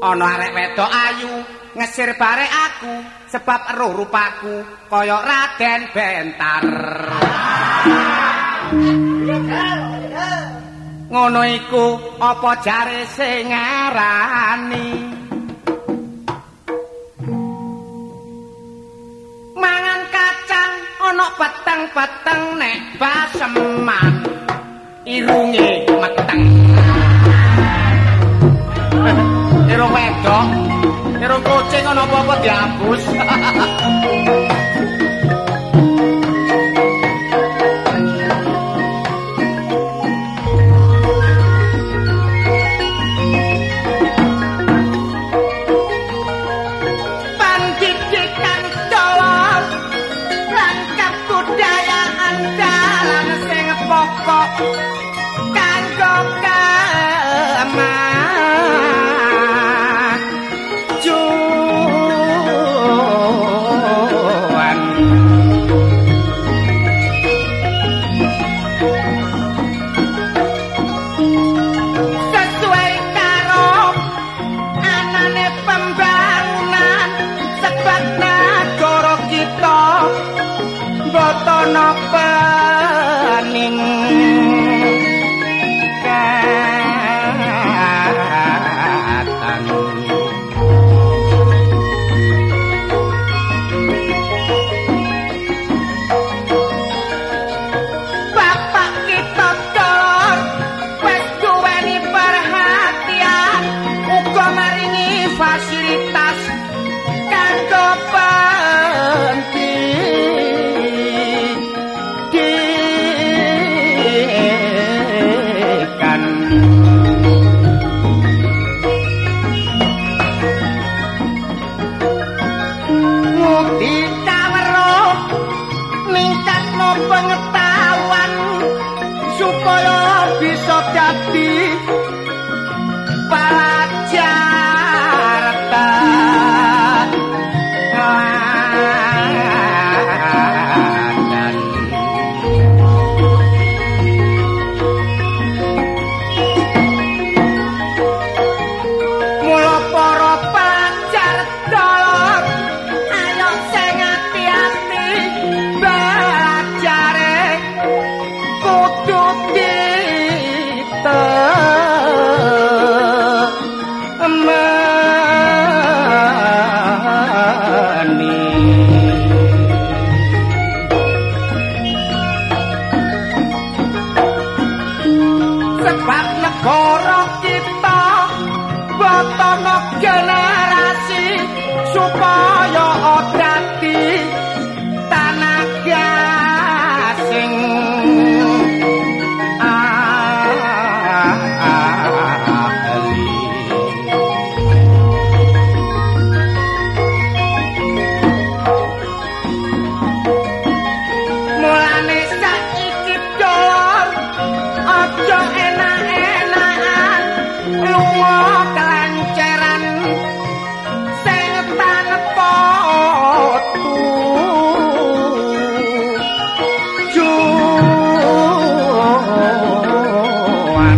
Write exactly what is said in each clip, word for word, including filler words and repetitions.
ana arek wedok ayu ngesir bare aku sebab eruh rupaku kaya Raden Bentar. Ngono iku apa jare sing ngarani mangan kacang ana peteng-peteng nek baseman irunge meteng. Irung wedok, irung kucing ana apa-apa diabus. Pendidikan dolor rangkap budayaan dalam sing pokok kanggo kemajuan. Sesuai karo anane pembangunan sebab nagara kita botono pening. Bapak kita dolor wis duweni perhatian uga maringi fasilitas kanggo pendidikan. Ngudi kaweruh ningkatno pengetahuan supaya bisa dadi pelajar teladan. Mula para pelajar dolor ayo sing ati-ati belajare kudu ditemani. Sebab negara kita botono generasi supaya dadi tanah gasing ahli. Mulane saiki dolor aja enak-enakan lunga kelanceran sing tanpa tujuan.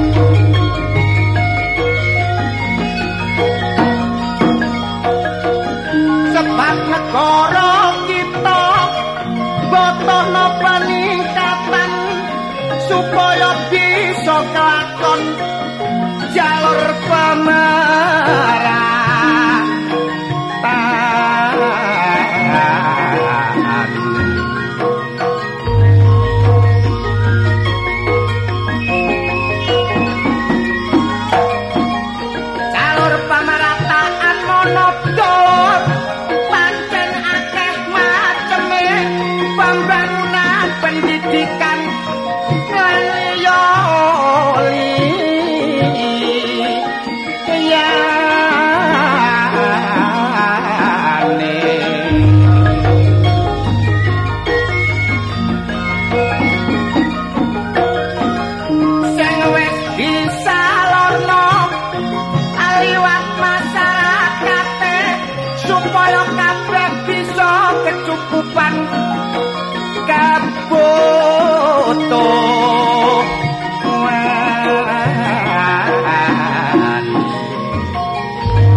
Sebab negara kita botono peningkatan supaya bisa kelakon jalur pemerataan. Jalur pemerataan monodolor pancen akeh maceme pembangunan pendidikan lan liya-liya. Sing wis disalurno liwat masyarakate supaya kabeh bisa kecukupan kebutuhan.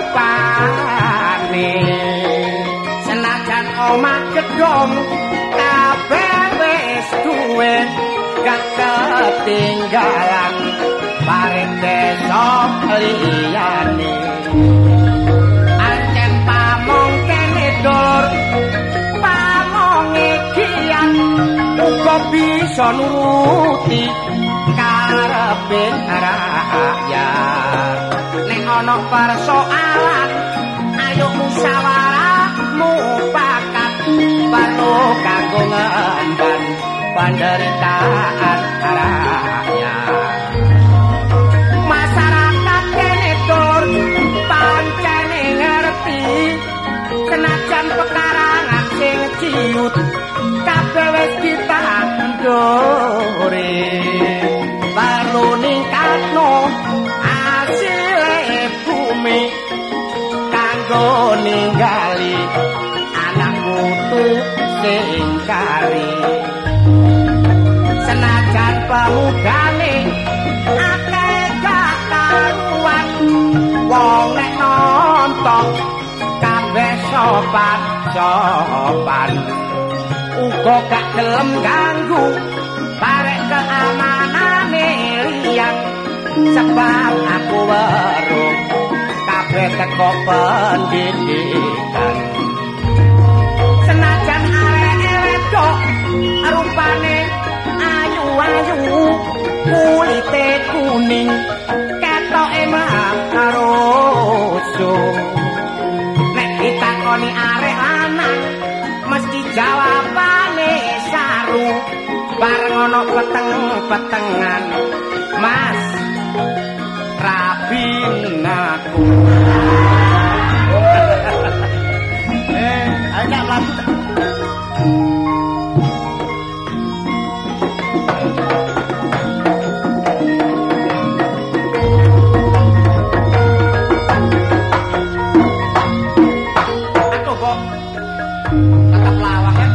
rupane senajan omah gedhong kabeh wis duwe gak ketinggalan bareng desa liyane ancen pamong kene dulur pamong ikian uga bisa nuruti karepe rakyat nek ana persoalan ayo musyawarah mufakat perlu kanggo ngemban penderitaan rakyat masyarakat kene tur pancene ngerti senajan pekarangan sing ciut kabeh wis ditanduri perlu ningkatno asile bumi kanggo ninggali anak mutu sing kari senajan pemudane akeh gak karuan wong nek nonton kabeh sopan sopan uga gak gelem ganggu barek keamanane liyan sebab aku weruh kabeh teko pendidikan senajan arek wedok rupane ayu-ayu kulite kuning ketoke maroso nek ditakoni arek lanang mesti jawabane saru bareng ana peteng-petengan Mas rabin aku eh ayo lagu aku kok tetap lawak ya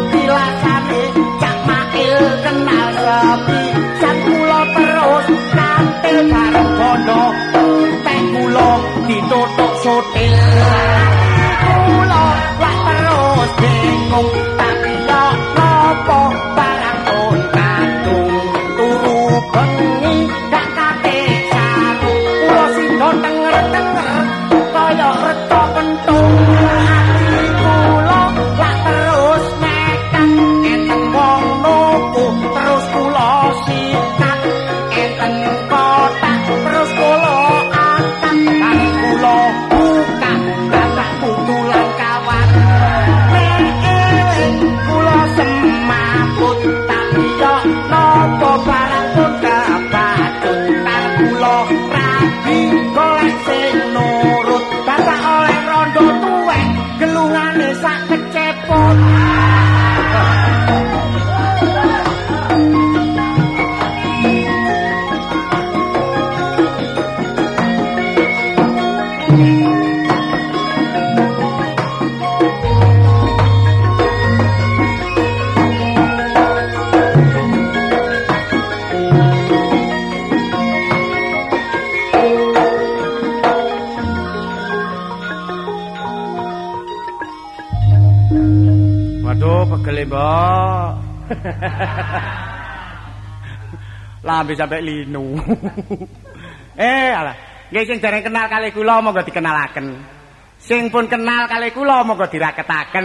kenal sepi sang kula terus Boleh, Mbok. Lambe sampai linu. eh, alah. Nggih sing dereng kenal kali kula monggo dikenalaken. Sing pun kenal kali kula monggo diraketaken.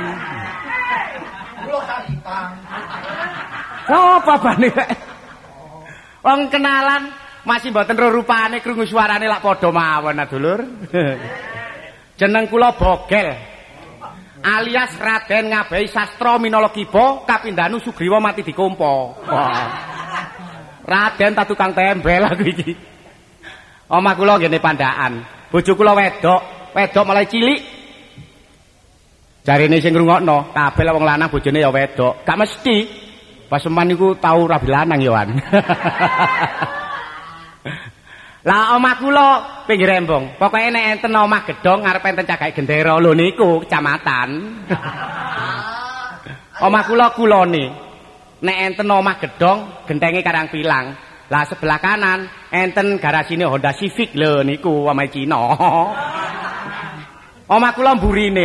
Kula Saripang. Sopo bane rek? Wong kenalan masih mboten ro rupane krungu suarane lak padha mawon, Dulur. Jeneng kula Bogel. Alias Raden Ngabehi Sastra Minologiba Kapindhanu Sugriwa mati dikompo. Raden ta tukang tembel aku iki. Omah kula ngene Pandaan. Bojo kula wedok, wedok mulai cilik. Jarine sing ngrungokno, kabeh wong lanang bojone ya wedok. Gak mesti. Paseman niku tau rabi lanang ya, Wan. Lah omah kula pinggir embong. Pokoke nek enten omah gedhong ngarep enten cagake gendera lho niku kecamatan. Omah kula kulone. Nek enten omah gedhong gentenge Karang Pilang. Lah sebelah kanan enten garasine Honda Civic lho niku omahe Cina. Omah kula mburine.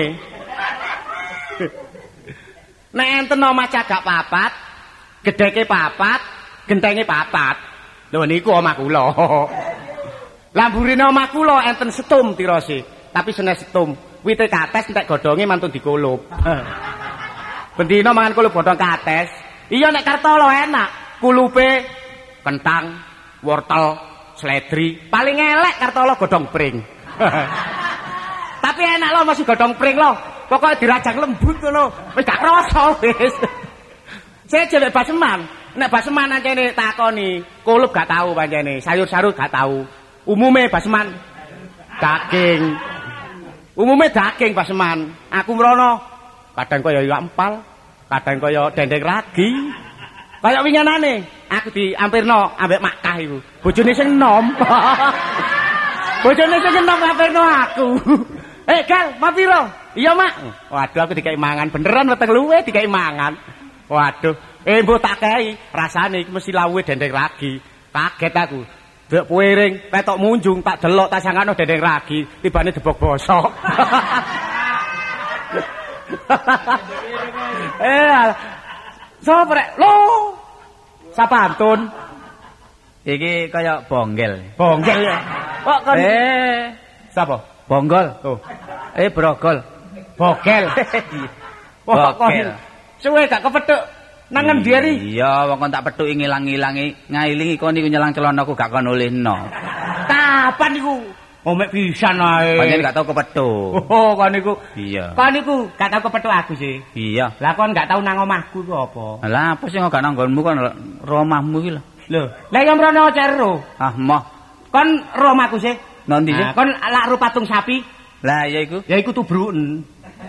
Nek enten omah cagak papat, gedheke papat, gentenge papat. Lho niku omah kula. Lah mburine omah kula enten setum tirose, tapi senes setum. Wite kates entek godhonge mantun dikulup. Bendina mangan kulup godhong kates. Iya nek Kartolo enak, kulupe kentang, wortel, seledri. Paling elek Kartolo godhong pring. Tapi enak loh masih godhong pring loh. Pokoknya dirajang lembut ngono. Wis gak krasa wis. Saya jelek Baseman. Nek Baseman ancene takoni, kulup gak tahu pancene, sayur-sayur gak tahu. Umume Baseman daging. Umume daging Baseman. Aku mrono kadang kaya iwak empal, kadang kaya dendeng ragi. Kaya winginane aku diampirno ambek Makkah iku. Bojone sing enom. Bojone sing enom ngampirno aku. Eh, Gal, mau piro? Iya, Mak. Waduh, aku dikai mangan beneran weteng luwe dikai mangan. Waduh, eh mbok tak kei, rasane iki mesti lawuhe dendeng ragi. Kaget aku. Dek puering, petok munjung, tak delok tak sangano dendeng ragi, tibane debok bosok. eh, sapa rek? Lho. Sapantun. Iki kaya bonggel. Bonggel ya. Kok kon Eh, sapa? bonggol. Tuh. Eh, brogol. Bogel. Bogel. Suwe gak kepethuk nang endi ri? Iya, wong kon tak pethuki ngilang-ilangi, ngailingi kon niku nyelang celanaku gak kon olehno. Kapan niku? Oh mek pisan ae. Pancen gak tau kepethuk. Oh, kon niku. Iya. Kon niku gak tau kepethuk aku sih. Iya. Lah kon gak tau nang omahku iku apa? Lah apa sih gak nang nggonmu kon romahmu iki lho. Lho, lah ya mrono cero. Ah, moh. Kon ro omahku sih. Nanti sih. Nah, kon lak ro patung sapi. Lah ya iku. Ya iku tubruken.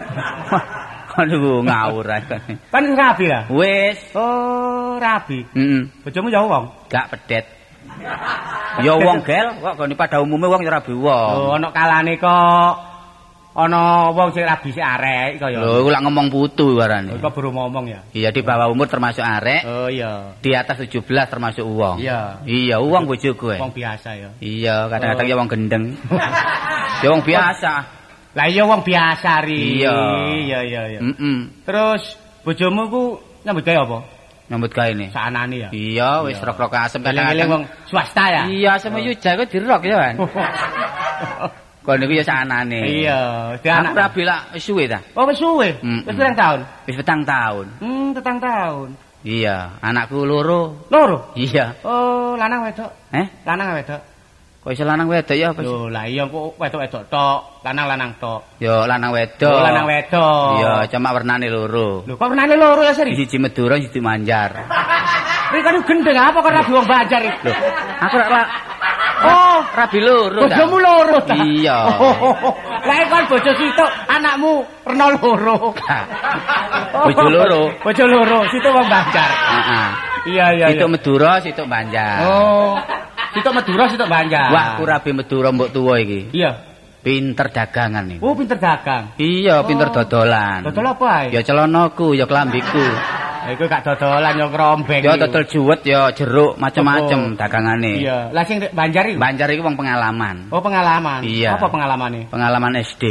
Aduh ngawur ae. Kan rabi lah. Wis. Oh, rabi. Heeh. Bojomu ya wong. Gak pedet. Ya wong gel, kok gone pada umume wong ya rabi wong. Oh, ana kalane kok ana wong sing rabi sik arek kaya. Lho, iku lak ngomong putu warane. Kok baru ngomong ya? Iya, di bawah umur termasuk arek. Oh iya. Di atas tujuh belas termasuk uwong. Iya. Iya, uwong bojoku. Wong biasa ya. Iya, kadang-kadang ya wong gendeng. Ya wong biasa. Lah iya wong biasa ri. Iya. Iya iya iya. Heeh. Terus bojomu ku nyambut gawe apa? Nyambut gawe ne. Saanane ya. Iya, wis rok-rok asem kadang-kadang wong swasta ya. Iya, asem yuja kok dirok ya, Wan. Kok niku ya saanane. Iya, di anak rabi lak wis suwe ta? Oh, wis suwe. Wis pirang tahun? Wis petang tahun. Hmm, petang tahun. Iya, anakku loro. Loro? Iya. Oh, lanang wedok. Eh? Lanang wedok. Kok iso lanang wedok ya apa sih? Lho, lah iya kok wedok-wedok tok, lanang-lanang tok. Yo lanang wedok. Oh, lanang wedok. Iya, cuma warnane loro. Lho, kok warnane loro ya, Sri? Siji Madura, siji Banjar. Ri kan gendeng apa kok rabi wong Banjar iki? Lho, aku ora Oh, rabi loro ta. Bojomu loro ta? Iya. Lah kan bojo situk anakmu rena loro. Bojo loro. Bojo loro, situk wong Banjar. Heeh. Iya iya. Situk Madura, situk Banjar. Oh. Situk Madura, situk Banjar. Wah, aku rabi Madura mbok tuwa iki. Iya. Pinter dagangan iki. Oh, pinter dagang. Iya, pinter dodolan. Dodol apa ae? Ya celanaku, ya klambiku. Lah iku gak dodolan ya krombeng. Ya dodol juwet ya jeruk macem-macem dagangane. Iya. Lah sing Banjar iki? Banjar iki wong pengalaman. Oh, pengalaman. Iya. Apa pengalamane? Pengalaman S D.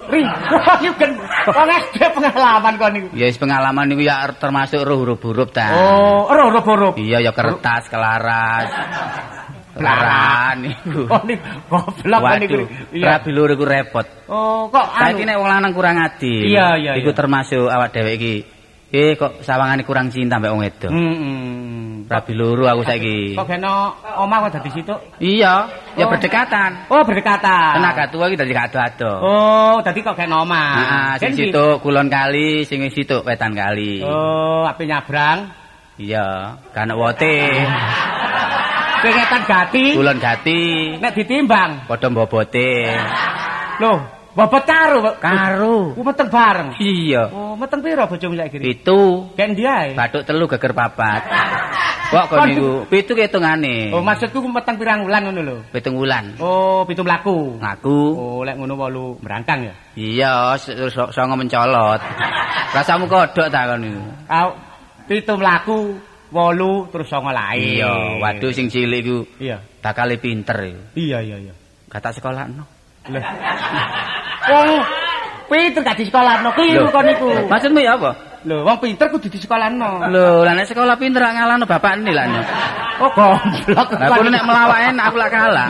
Ri, niku kan wong S D pengalaman kon niku. Ya wis pengalaman niku ya termasuk roh huruf-huruf ta. Oh, roh huruf-huruf. Iya ya kertas, kelaras. Laran niku. Oh niku goblok niku. Iya. Rabi lur iku repot. Oh, kok anu. Saiki nek wong lanang kurang adil. Iya, iya. Iku termasuk awak dhewe iki. Eh kok sawangane kurang cinta mbek wong wedok. Heeh. Rabi loro aku saiki. Kok kena omah kok dadi situ? Iya, ya Oh. berdekatan. Oh, berdekatan. Tenaga tua iki dadi ado-ado. Oh, dadi kok kena omah. Heeh, sing Kan situ kulon kali, sing situ wetan kali. Oh, ape nyabrang? Iya, kan wote. Pengetan gati. Kulon gati. Nek ditimbang. Padha bobote. Loh, bobot karo. Karo. Ku meteng bareng. Iya. Oh, meteng piro bojomu saiki? Pitu. Ken ndi ae? Bathuk telu geger papat. Kok kok niku pitu hitungane. Oh, maksudku meteng pirang wulan ngono lho. Pitung wulan. Oh, pitu mlaku. Ngaku. Oh, lek ngono wolu merangkang ya. Iya, songo mencolot. Rasamu kodhok ta kon niku. Kau pitu mlaku, wolu terus songo lae. Iya, waduh sing cilik iku Iya. bakal pinter iku. Iya, iya, iya. Gak tak sekolahno. Lho. Wong pinter gak di sekolahno kliru kon niku. Maksudmu ya apa? Lho, wong pinter kudu di sekolahno. Lho, lah nek sekolah pinter gak ngalahno bapakne lah. Oh, goblok. Lah kuwi nek melawak enak aku lak kalah.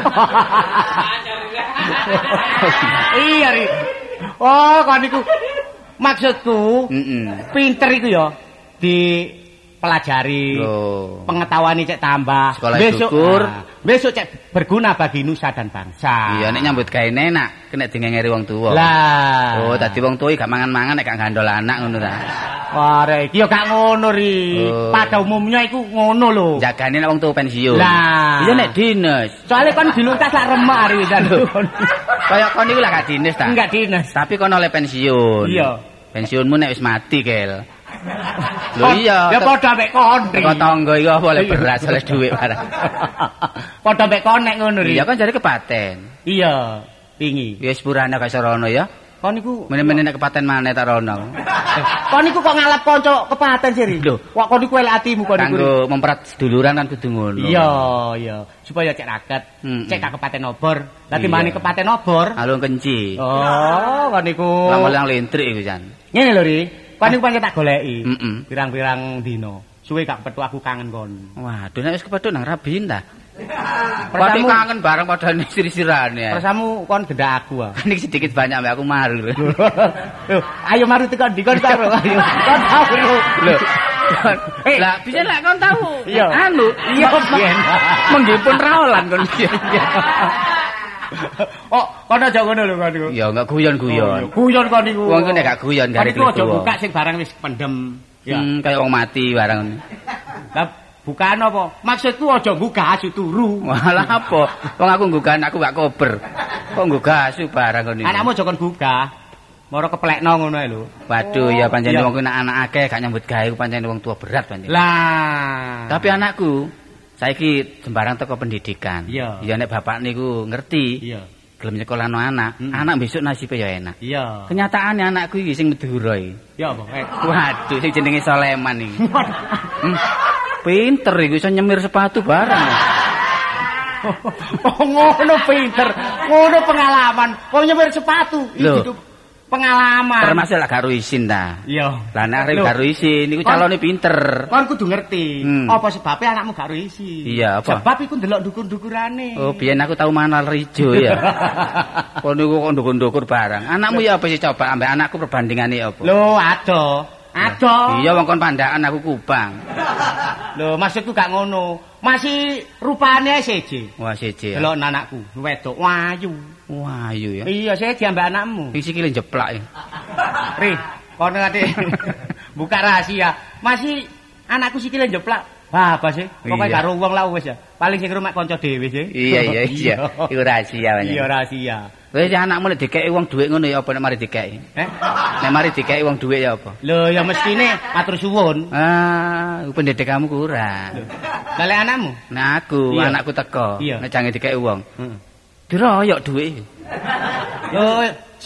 Iya, Ri. Oh, kon niku maksudku Heeh. pinter iku ya dipelajari. Loh. Pengetahuan cek tambah. Sekolah besok, syukur. nah, besok cek berguna bagi nusa dan bangsa. Iya nek nyambut gawe enak, kena dingengeri wong tuwa. Lah. Oh, dadi wong tuwa iki gak mangan-mangan nek gak gandol anak ngono ta. Wah, rek, iki ya gak ngono, Ri. Oh. Pada umumnya iku ngono lho. Jagane nek wong tuwa pensiun. Lah. Iya nek dinas. Soalnya kan diluntas lak remek ari wisan. Kaya kon niku lah gak dinas ta. Enggak dinas. Tapi kon oleh pensiun. Iya. Pensiunmu nek wis mati, Kel. Lho Kon- iya. Ya padha mek kon, Ri. Teko tangga iku apa oleh beras, oleh dhuwit barang. Padha mek kon nek ngono, Ri. Iya kan jare kepaten. Iya, wingi. Ya wis purane gak serono ya. Kon niku Mene-mene nek kepaten maneh tak rono. kon niku kok ngalap kanca kepaten sih, Ri. Lho. Kok kon niku elek atimu kon niku. Ri. Kanggo memperat seduluran kan kudu ngono. Iya, iya. Supaya cek raket, Mm-mm. cek gak kepaten obor. Lah Iya. timbane kepaten obor. Alung kenci. Oh, kon niku. Lang-lang lintrik iku jan. Ngene lho, Ri. Kon niku pancen tak goleki. Mm-mm. Pirang-pirang dino. Suwe gak petu aku kangen kon. Waduh nek wis kepethuk nang rabin ta. Pati Persamu, kangen bareng padha sir-sirane. persamu kon gendak aku ah. Nek sedikit banyak mbak aku maru. Lho, ayo mari tekan di kon karo ayo. Kon tahu lho. Lho. Eh. Lah bisa lek kon tahu. Iya. Anu, Iya, biyen. menggipun raolan kon biyen. Oh, kon aja ngono lho kon niku. Ya enggak guyon-guyon. Guyon kon niku. Wong ku nek gak guyon Kon gare niku aja tuwa. buka sing barang wis pendem. Ya. Hmm, kayak wong mati barang. Lah bukaan apa? Maksudku aja buka asu turu. Walah apa? Wong aku nggugah anakku gak kober. Kok nggugah asu barang kon iki. Anakmu aja kon buka. Moro keplekno ngono ae lho. Waduh ya pancen Iya. wong ku nek anak akeh gak nyambut gawe ku pancen wong tua berat pancen. Lah. Tapi anakku saiki sembarang teko pendidikan. Iya. Ya nek bapak niku ngerti, Iya. gelem nyekolahno anak, Mm. anak besok nasibe ya enak. Iya. Kenyataannya anakku iki sing Madura iki. Ya apa? Eh. Waduh sing jenenge Soleman iki. Hmm. Pinter iku iso nyemir sepatu bareng. Oh ngono pinter. Ngono pengalaman. Kok nyemir sepatu. Loh. Itu pengalaman. Termasuk lah karo isin ta. Iya. Lah nek arep Loh. karo isin niku Kon- calone pinter. Kon kudu ngerti. Hmm. Apa sebabnya anakmu gak isi? Iya, apa? Sebab iku ndelok dukur-dukurane. Oh, biyen aku tau manal rijo ya. Kok niku kok ndukur-ndukur barang. Anakmu ya apa sih coba ambek anakku perbandingane apa? Lho, ado. Ado. Iya wong kon pandakan aku Kupang. Lho, maksudku gak ngono. Masih rupane seje. Wah siji ya. Delok anakku, wedok wayu. Wah ayu ya. Iya, saya diambek anakmu. Sing sikile jeplak ya. Ri, kono ade buka rahasia. Masih anakku sikile jeplak. Apa sih? Pokoke Iya. karo wong lah wis ya. Paling sing rumah kanca dhewe sih. Iya iya iya. Iku rahasia banyak. Iya rahasia. Wis anakmu nek dikeki wong dhuwit ngono ya apa nek mari dikeki? Eh? Nek mari dikeki wong dhuwit ya apa? Lho, ya mestine matur suwun. Ah, iku pendidikanmu kurang. Lah lek anakmu? Nah aku, Iya. anakku teko, Iya. nek jange dikeki wong. Heeh. Diroyok dhuwit. Lho,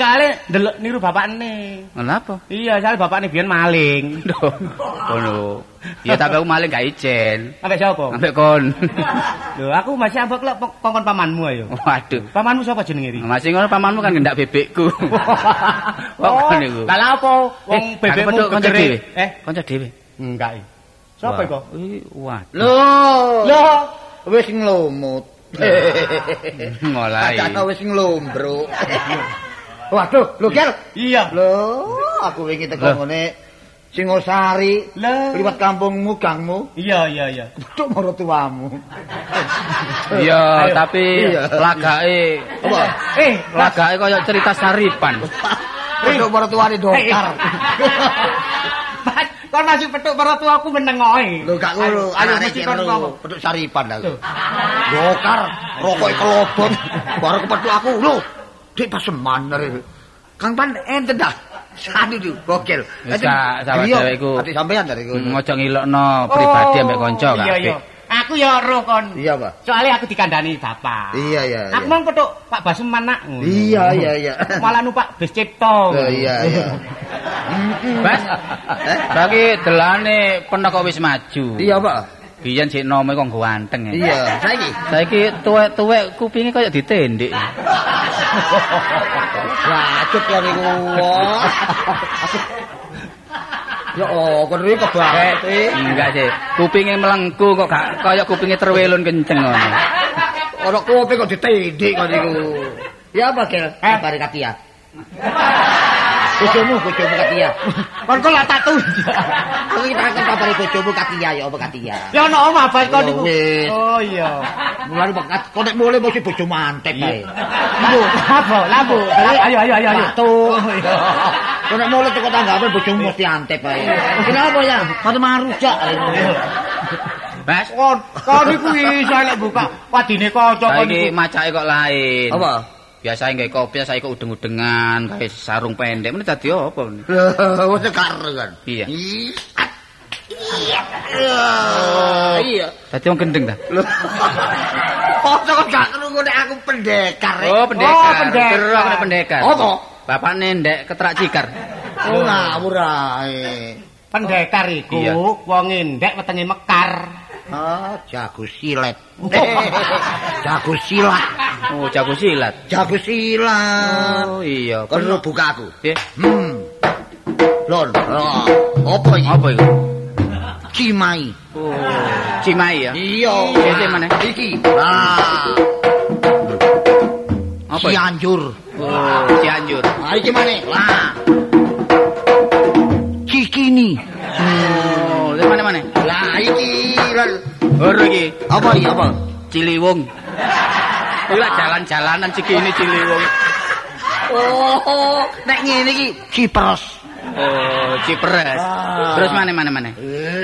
soalnya ndelok niru bapakne. Kenapa? Iya, soalnya bapakne biyen maling. Ngono. Ya tapi aku maling gak ijen. Ambek sapa? Ambek kon. Lho, aku masih ambek lek kongkon pamanmu ayo. Waduh. Pamanmu sapa jenenge iki? Masih ngono pamanmu kan ngendak bebekku. Oh, niku. Lah apa wong bebekmu kanca dhewe? Eh, kanca dhewe. Enggak. Sapa iku? Wah. Lho. Lho, Wis nglumut. Ngolai. Kata wis nglombruk. Waduh, lho Gel. iya. Lho, aku wingi teko ngene Singosari, Lah. liwat kampungmu, gangmu. Iya, iya, iya. Betul marang tuamu. Iya, tapi Iya. lagake Apa? Eh, lagake kaya cerita Saripan. Betul marang tuane dokar. Mas, kon masih petuk para tuaku meneng oe. Lho gak ngono, Ayo arek mesti kira kon ngomong. petuk saripan aku. Dokar, rokoke kelobot, bareng kepethuk aku. Lho, dik paseman arek. Kang Pan enten dah. Sanu itu gokil. Wis gak salah dhewe iku. Ati sampean dari iku. Ngojo ngilokno pribadi ambek kanca Iya, kabeh. iya. Aku ya roh kon. Iya, Pak. Soalnya aku dikandani bapak. Iya, iya, Aku iya. mau petuk Pak Basuman nak. Iya, iya, iya. Malah numpak bis Cipto. Oh, iya, iya. Bas. Bagi delane penaka wis maju. Iya, Pak. Biyen sik nome kok ganteng ya. Iya, saiki. Saiki tuwek-tuwek kupinge kaya ditendik. Wacut ya niku. Ya oh, kon iki kebanget iki. Enggak sih. Kupinge melengku kok gak kaya kupinge terwelun kenceng ngono. Ora kopi kok ditendik kok niku. Ya apa, Gel? Kabare Katia. Bojomu, bojomu Katia. Kon kok lak tak tunjuk. Aku iki takon kabare bojomu Katia ya apa Katia? Ya ono omah bas kon niku. Wis. Oh iya. Mulane bakat kok nek mulai mesti bojo mantek kae. Lambu, apa? Lambu. Ayo ayo ayo ayo. Tuh. Kok nek mulai teko tanggapan bojomu mesti antep kae. Kenapa ya? Mate marujak. Bas. Kon kon niku iso lek buka wadine kanca kon Saiki niku. macake kok lain. Apa? Biasa nggae kopi saiki kok udeng-udengan, gawe sarung pendek. Mene dadi apa meneh? Lho, wis karo kan. Iya. Iya. Iya. Dadi wong gendeng ta? Lho. Kok kok gak krungu nek aku pendekar. Oh, pendekar. Oh, pendekar. Kira aku nek pendekar. Apa? Bapakne ndek ketrak cikar. Oh, ngawur ae. Pendekar iku Iya. wong endek wetenge mekar. Ah, jago silet. Jago silat. Oh, jago silat. Jago silat. Oh, iya. Kon lu buka aku. Piye? Hmm. Lon, oh, apa iki? Apa iku? Cimai. Oh, Cimai ya. Iya. Iki mana? Iki. Nah, Apa? iki? Cianjur. Oh, Cianjur. Ah, iki mana? Lah. Cikini. Oh, dari mana mana? Lah iki. Lon. Ora iki. Apa iki apa? Ciliwung. Ora jalan-jalanan Cikini Ciliwung. Oh, nek ngene iki Cipres. Oh, Ciperes. Ah. Terus mana mana mana?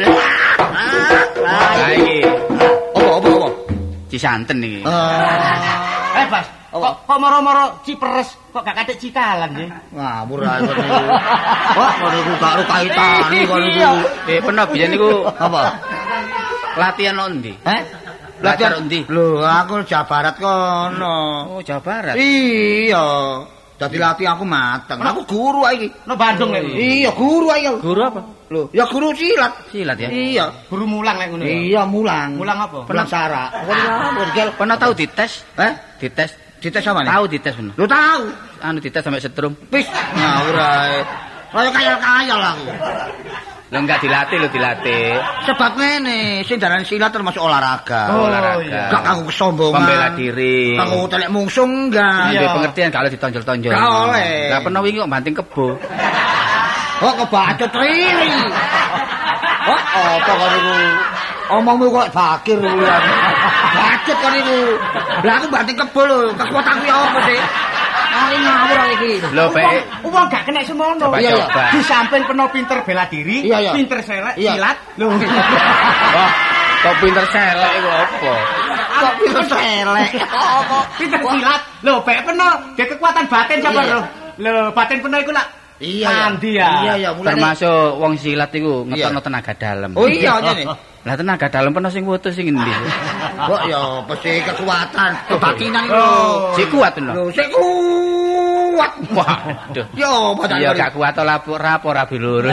Ah, Ah, iki apa apa apa? Cisanten iki. Ah. Eh, Bas. Kok kok moro-moro Ciperes kok gak katik Cikalan nggih? Ngawur ae kok niku. Wah, kok niku gak ro kaitane kok niku. Eh, pernah biyen niku Apa? latihan nang ndi? Eh? Latihan ndi? Lho, aku Jawa Barat kono. Oh, Jawa Barat. Iya. Dadi latihan aku mateng. Aku guru ae iki. No Bandung lek. Iya, guru ae. Guru apa? Lho, ya guru silat. Silat ya. Iya. Guru mulang lek ngono ya. Iya, mulang. Mulang apa? Mulang sara. Kok gel? Pernah tahu dites? Eh? Dites. Dites sama nih? Tahu dites bener. Lu tahu? Anu dites sampai setrum. Wis, ngawur ae. Kaya kaya-kaya aku. Lo enggak dilatih, lo dilatih. Sebab ngene, sing daran silat termasuk olahraga. Oh, Olahraga. iya. Gak kanggo kesombongan. Pembela diri. Kanggo telek mungsuh enggak. Iya. Iya. pengertian kalau ditonjol-tonjol. Gak oleh. Lah pernah wingi kok banting kebo. Oh, kebacut riri. Oh, apa kok niku? Omongmu kok fakir kuwi. Bacut kok niku. Lah aku banting kebo lho, kekuatanku ya apa sih? Ah, ini ngawur iki. Lho, bae. Wong gak kena semono. Coba, Iya, iya. coba. Di samping penuh pinter bela diri, Iya, iya. pinter selek, Iya. silat. Lho. Wah, kok pinter selek iku apa? Kok pinter selek. Apa? Pinter silat. Lho, bae penuh dia kekuatan batin coba Iya. lho. Lho, batin penuh iku lak Iya, mandi ya. Iya, iya, mulane. Termasuk wong silat iku ngetokno Iya. tenaga dalam. Oh iya, ngene. Lah tenaga dalam pernah sing wutus sing endi? Kok ya pasti kekuatan, kebatinan itu. Oh. Si kuat lho. Lho, sik kuat. kuat. Waduh. Yo, bocah. Iya gak kuat lapor rapor rabi loro.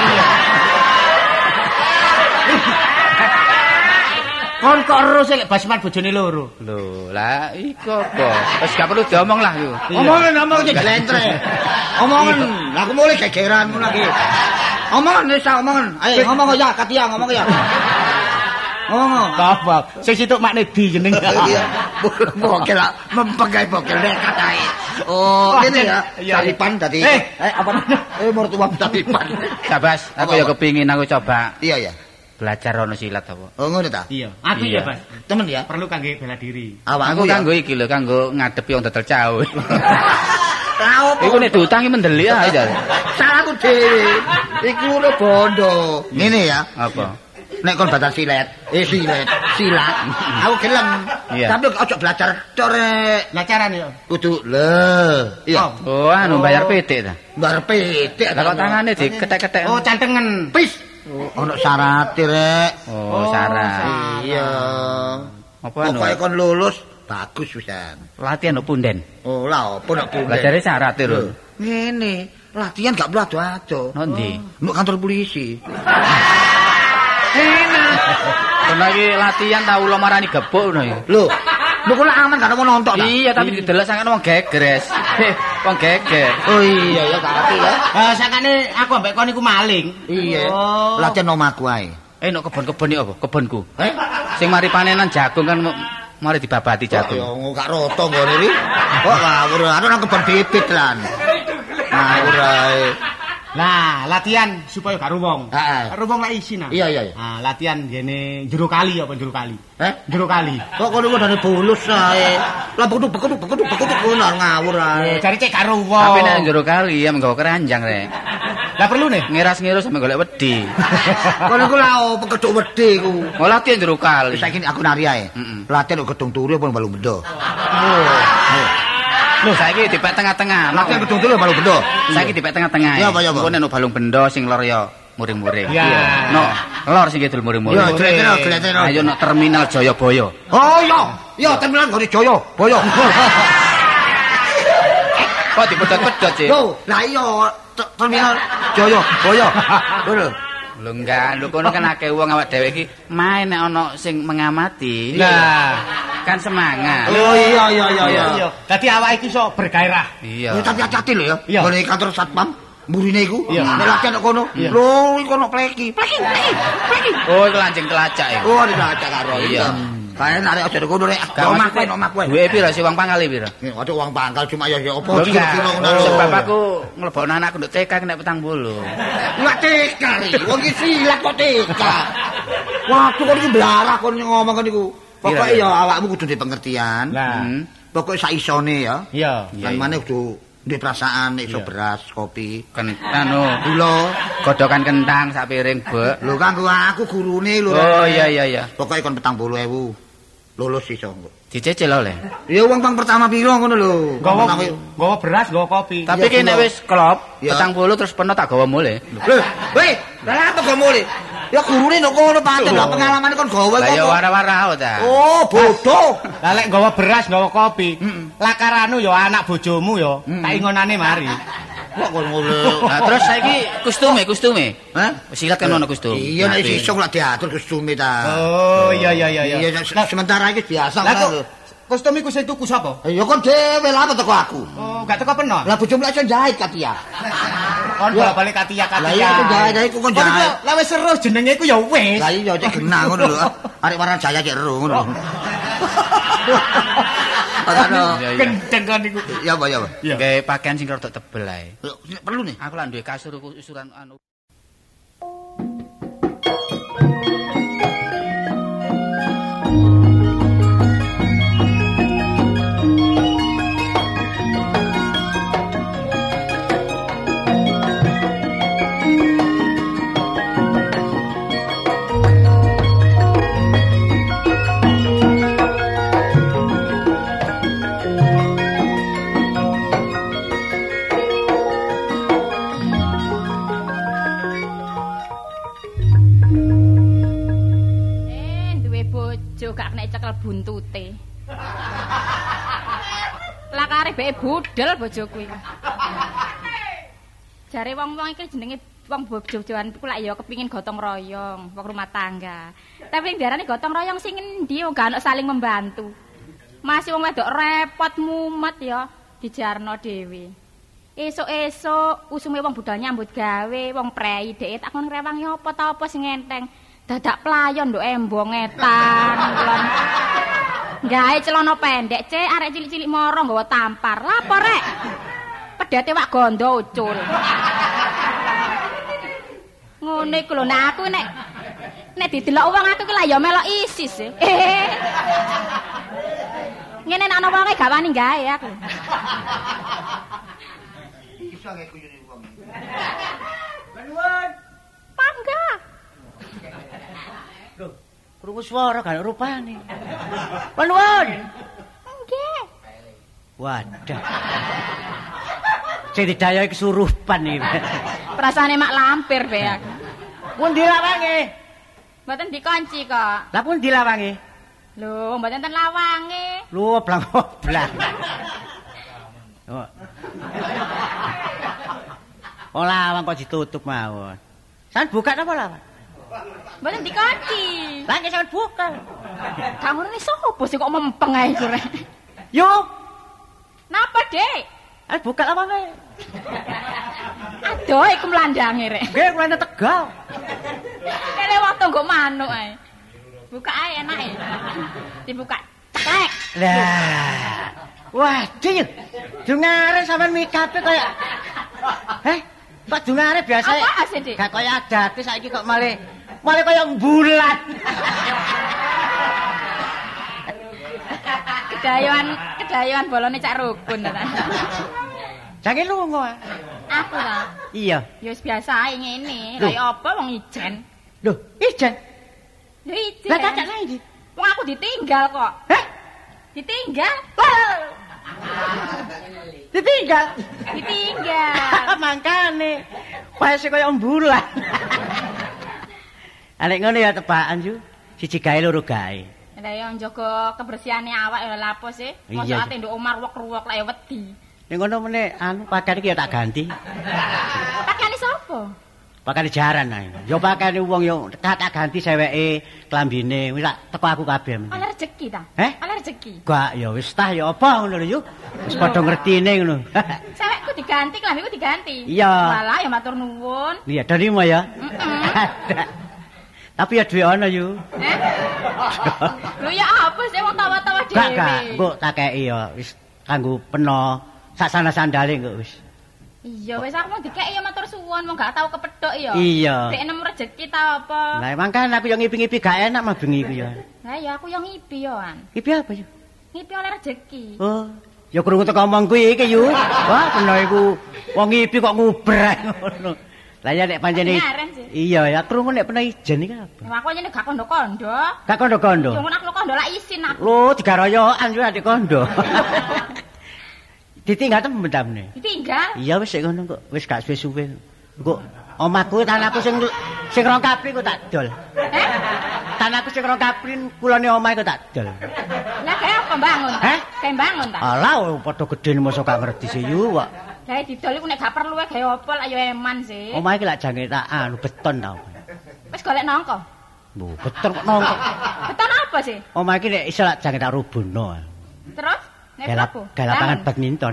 Kon kok ero sik basman bojone loro. Lho, lah iku apa? Wis gak perlu diomong lah iku. Omongan omong iki glentre. Omongan, aku mulai gegeran ngono lagi. Omongan wis omongan. Ayo ngomong ya Katia ngomong ya. Ngomong. Apa? Sing situk makne di jeneng. Iya. Bokel lah, mempegai bokel nekat ae. Oh, ini ya. Talipan tadi. Eh, eh apa namanya? Eh mertua talipan. Sabas, aku ya kepingin aku coba Iya ya. belajar ono silat apa. Oh ngono ta? Iya. Aku Iya. ya, Bas. Temen ya. Perlu kangge bela diri. Aku ya. kanggo iki lho, kanggo ngadepi wong dodol cawe. Tahu apa? Iku nek diutangi mendelik ae jar. Salahku dhewe. Iki udah bondo. Ngene ya. Apa? Nek kon batal silet, eh silet, silat. Aku gelem. Iya. Tapi ojo belajar core. Lah carane yo. Kudu le. Iya. Oh, anu bayar pitik ta. Bar petik. Lah kok tangane diketek-ketek. Oh, cantengen. Pis. Ono syarat rek. Oh, syarat. Iya. Apa anu? Pokoke kon lulus bagus pisan. Latihan no punden. Oh, lah opo nek punden. Belajar syarat e lho. Ngene, latihan gak perlu ado-ado. Nondi? Nuk kantor polisi. Enak. Kono iki latihan tau lo marani gebuk ngono iki. Lho, lho kok aman gak mau nonton ta? Iya, tapi didelok sakjane wong gegres. Wong geger. Oh iya ya gak ngerti ya. Ah, sakane aku ambek kon iku maling. Iya. Oh. Latihan omahku ae. Eh, nek kebon-kebon iki apa? Kebonku. Eh? Sing mari panenan jagung kan mari dibabati Ya jagung. gak roto ngene iki. Kok ngawur, anu nang kebon bibit lan. Ngawur ae. Nah, latihan supaya gak ruwong. Heeh. Ruwong lek isi nah. Iya iya iya. Ah, latihan gene jero kali apa jero kali? Eh? Jero kali. Kok kono dane bulus ae. Lah beku beku beku beku ngono ngawur ae. Cari cek gak ruwong. Tapi nek jero kali ya menggawa keranjang rek. Lah perlu nih. Ngiras-ngirus sampe golek wedi. Kono ku lha opo keduk wedi ku. Oh, latihan jero kali. Saiki aku nari ae. Mm-mm. Latihan kok gedung turu apa balu bendo. Lho, saiki dipek tengah-tengah. Latihan gedung turu balu bendo. Saiki dipek tengah-tengah. Iya, apa, iya, apa? Engko nek balung bendo sing lor ya muring-muring. Iya. No, lor sing kidul muring-muring. Yo, gleteno, gleteno. Ayo no terminal Jayabaya. Oh iya, iya terminal ngene Jaya, Boyo. Kok dipedhot-pedhot sih? Yo, lah iya te- terminal Jaya, Boyo. Ngono. Lho enggak, lho kono kan akeh wong awak dhewe iki main nek ana sing mengamati. Nah. Kan semangat. Oh iya iya iya iya. Iya. Dadi awake iki iso bergairah. Iya. Ya tapi hati-hati lho ya. Iya. Ngene kantor satpam mburine iku. Iya. Nek latihan kok kono. Iya. Lho, iku ono pleki. Pleki, pleki. Pleki. Oh, iku lancing telacak ya. Oh, dilacak karo. Iya. Kae nek aja kono rek. Gak Omah maksudnya, kowe, omah kowe. duwe pira sih wong pangkal pira? Ada uang pangkal cuma ya ya apa Lho enggak. kira-kira ngono. Oh, sebab aku nglebokno anakku nduk T K kena petang bulu. Enggak teka ri. Wong iki silat kok teka. Waduh kok iki blarah kon ngomong kan iku. Pokoke ya awakmu kudu duwe pengertian. Nah. Hmm. Pokoke sak isone ya. Iya. Kan maneh kudu duwe perasaan nek iso beras, kopi, Kan anu gula. godokan kentang sak piring, Bek. Lho kanggo aku gurune lho. Oh iya iya iya. Pokoke kon petang puluh ewu. Lulus iso. Dicicil oleh. Ya uang pang pertama piro ngono lho. Gawa Pertama- gawa beras, gawa kopi. Tapi Iya, ki nek gula. wis klop, Iya. petang puluh terus penuh tak gawa mulih. Lho, weh, lah apa kok mulih? Ya gurune nek kono pancen lah pengalamane kon gawe Lah ya kok. wara-wara ta. Oh, bodoh. Lah lek gawa beras, gawa kopi. Lakaranu ya anak bojomu ya. Tak ingonane mari. Kok kon ngono. Nah, terus saiki kostume, kostume. Hah? Silat kan ono kostum. Iya nek Nanti. iso lah diatur kostume ta. Oh, iya iya iya Iya, se- sementara iki biasa Lah ngono. kok kostum iku sing tuku sapa? Ya kon dhewe lah apa teko aku. Oh, gak teko peno. Lah bojomu lek iso jahit Katia. Kon Ya. balik katia katia. Lah iya aku jahit iku kon Kon iku jahit. lah wis seru jenenge iku ya wis. Lah iya cek genah ngono lho. Arek warna jaya cek ero ngono. Padahal Iya, iya. Gendeng kon iku. ya apa ya apa. Iya. Gawe pakaian sing rada tebel ae. Lho, perlu nih. Aku lah duwe kasur usuran anu. Eh, duwe bojo gak kena cekel buntute. Lah kare beke budel bojoku iki. Jare wong-wong iki jenenge wong bojo-bojoan iku lak ya kepingin gotong royong, wong rumah tangga. Tapi yang diarani gotong royong sing endi gak ono saling membantu. Masih wong wedok repot mumet ya dijarno dhewe. Esuk-esuk usume wong budal nyambut gawe, wong prei dhek tak kon rewangi apa ta apa sing enteng. Dadak playon nduk embong etan. Gawe celana pendek, Cek, arek cilik-cilik moro nggawa tampar. Lapo rek? Pedhete wak gondo ucul. Ngene iku lho, nek aku nek nek didelok wong aku ki lah ya melok ISIS. Ngene nek ana wonge gak wani gawe aku. Iso nggih kuyune wong. Panuwun. Pangga. Loh, krungu swara gak rupane. Panuwun. Nggih. Wadah. Sing didayai kesurupan iki. Perasane mak lampir be aku. Pun dilawange. Mboten dikunci kok. Lah pun dilawange. Lho, mboten ten lawange. Lu oblang-oblang. Oh. Oh lawang kok ditutup mawon. Sampeyan buka napa lawang? Mboten dikunci. Lah nggih sampeyan buka. Gak ngono sapa sih kok mempeng ae iku rek. Yo, Napa, Dik? ayo buka lawange. Aduh, iku mlandange rek. Nggih, kula Tegal. Kene waktu nggo manuk ae. Buka ae enake. Dibuka. Ceklek. Lah. Waduh, yuk. Dungare sampean mikape kaya Heh, Pak dungare biasa. Apa sih, Dik? Gak kaya adate saiki kok malah malah kaya bulan. Kedayoan, kedayoan bolone cak rukun ta. Jange lunga. Aku ta. Iya. Ya wis biasa ae ngene. Loh. Kaya apa wong ijen? Loh, ijen. Lho ijen. Lah kakak nang ndi? Wong aku ditinggal kok. Heh? Ditinggal. Ditinggal. Ditinggal. Mangkane. Wes kaya bulan. Alek ngono ya tebakan yu. Siji gawe loro gawe. Lah ya njaga kebersihane awak ya lapo sih. Iya, Mosok iya. ate nduk omah ruwek-ruwek lek wedi. Ning ngono meneh anu pakaian iki ya tak ganti. Pakaiane sapa? Pakaian jaran ae. Ya pakaian wong yo tak tak ganti seweke, klambine, wis tak teko aku kabeh. Oleh rezeki ta? Heh? Oleh rezeki. Gak ya wis tah ya apa ngono lho yu. Wis padha ngertine ngono. Sewekku diganti, klambiku diganti. Iya. Walah ya matur nuwun. Iya, terima ya. Heeh. Tapi ya duwe ana yu. Eh? Lho ya apa sih wong tawa-tawa dhewe. Gak gak, mbok tak kei ya wis kanggo peno sak sana sandale kok wis. Iya wis aku mau dikeki ya matur suwun, wong gak tau kepethuk ya. Iya. Dek nemu rezeki ta apa. Lah emang kan aku yang ngipi-ngipi gak enak mah bengi ku ya. Lah ya aku yang ngipi yo an. Ngipi apa yu? Ngipi oleh rezeki. Oh, ya krungu teko omong kuwi iki yu. Wah, peno iku wong ngipi kok ngubrek ngono. Lah ya nek pancene Ngaren sih. iya ya krungu nek peno ijen iki apa? Ya aku nyene gak kondo-kondo. Gak kondo-kondo. Yo ngono aku kondo lak isin aku. Lho, digaroyokan yo adik kondo. Ditinggal temen tamne. Ditinggal. Iya wis sik ngono kok, wis gak suwe-suwe. Kok omahku tanahku sing sing rong kapri kok tak dol. Eh? Tanahku sing rong kapri kulone omahe kok tak dol. Lah kayak apa bangun? Heh? Kayak bangun ta? Alah padha gedhe mosok gak ngerti sih yu kok. Kayak didol iku nek gak perlu ae gawe apa lak yo eman sih. Omahe iki lak jange tak anu beton ta. Wis golek nangka. Lho, beton kok nongko. Beton apa sih? Omahe iki nek iso lak jange tak rubuhno. Terus nek Galap apa? galapangan badminton.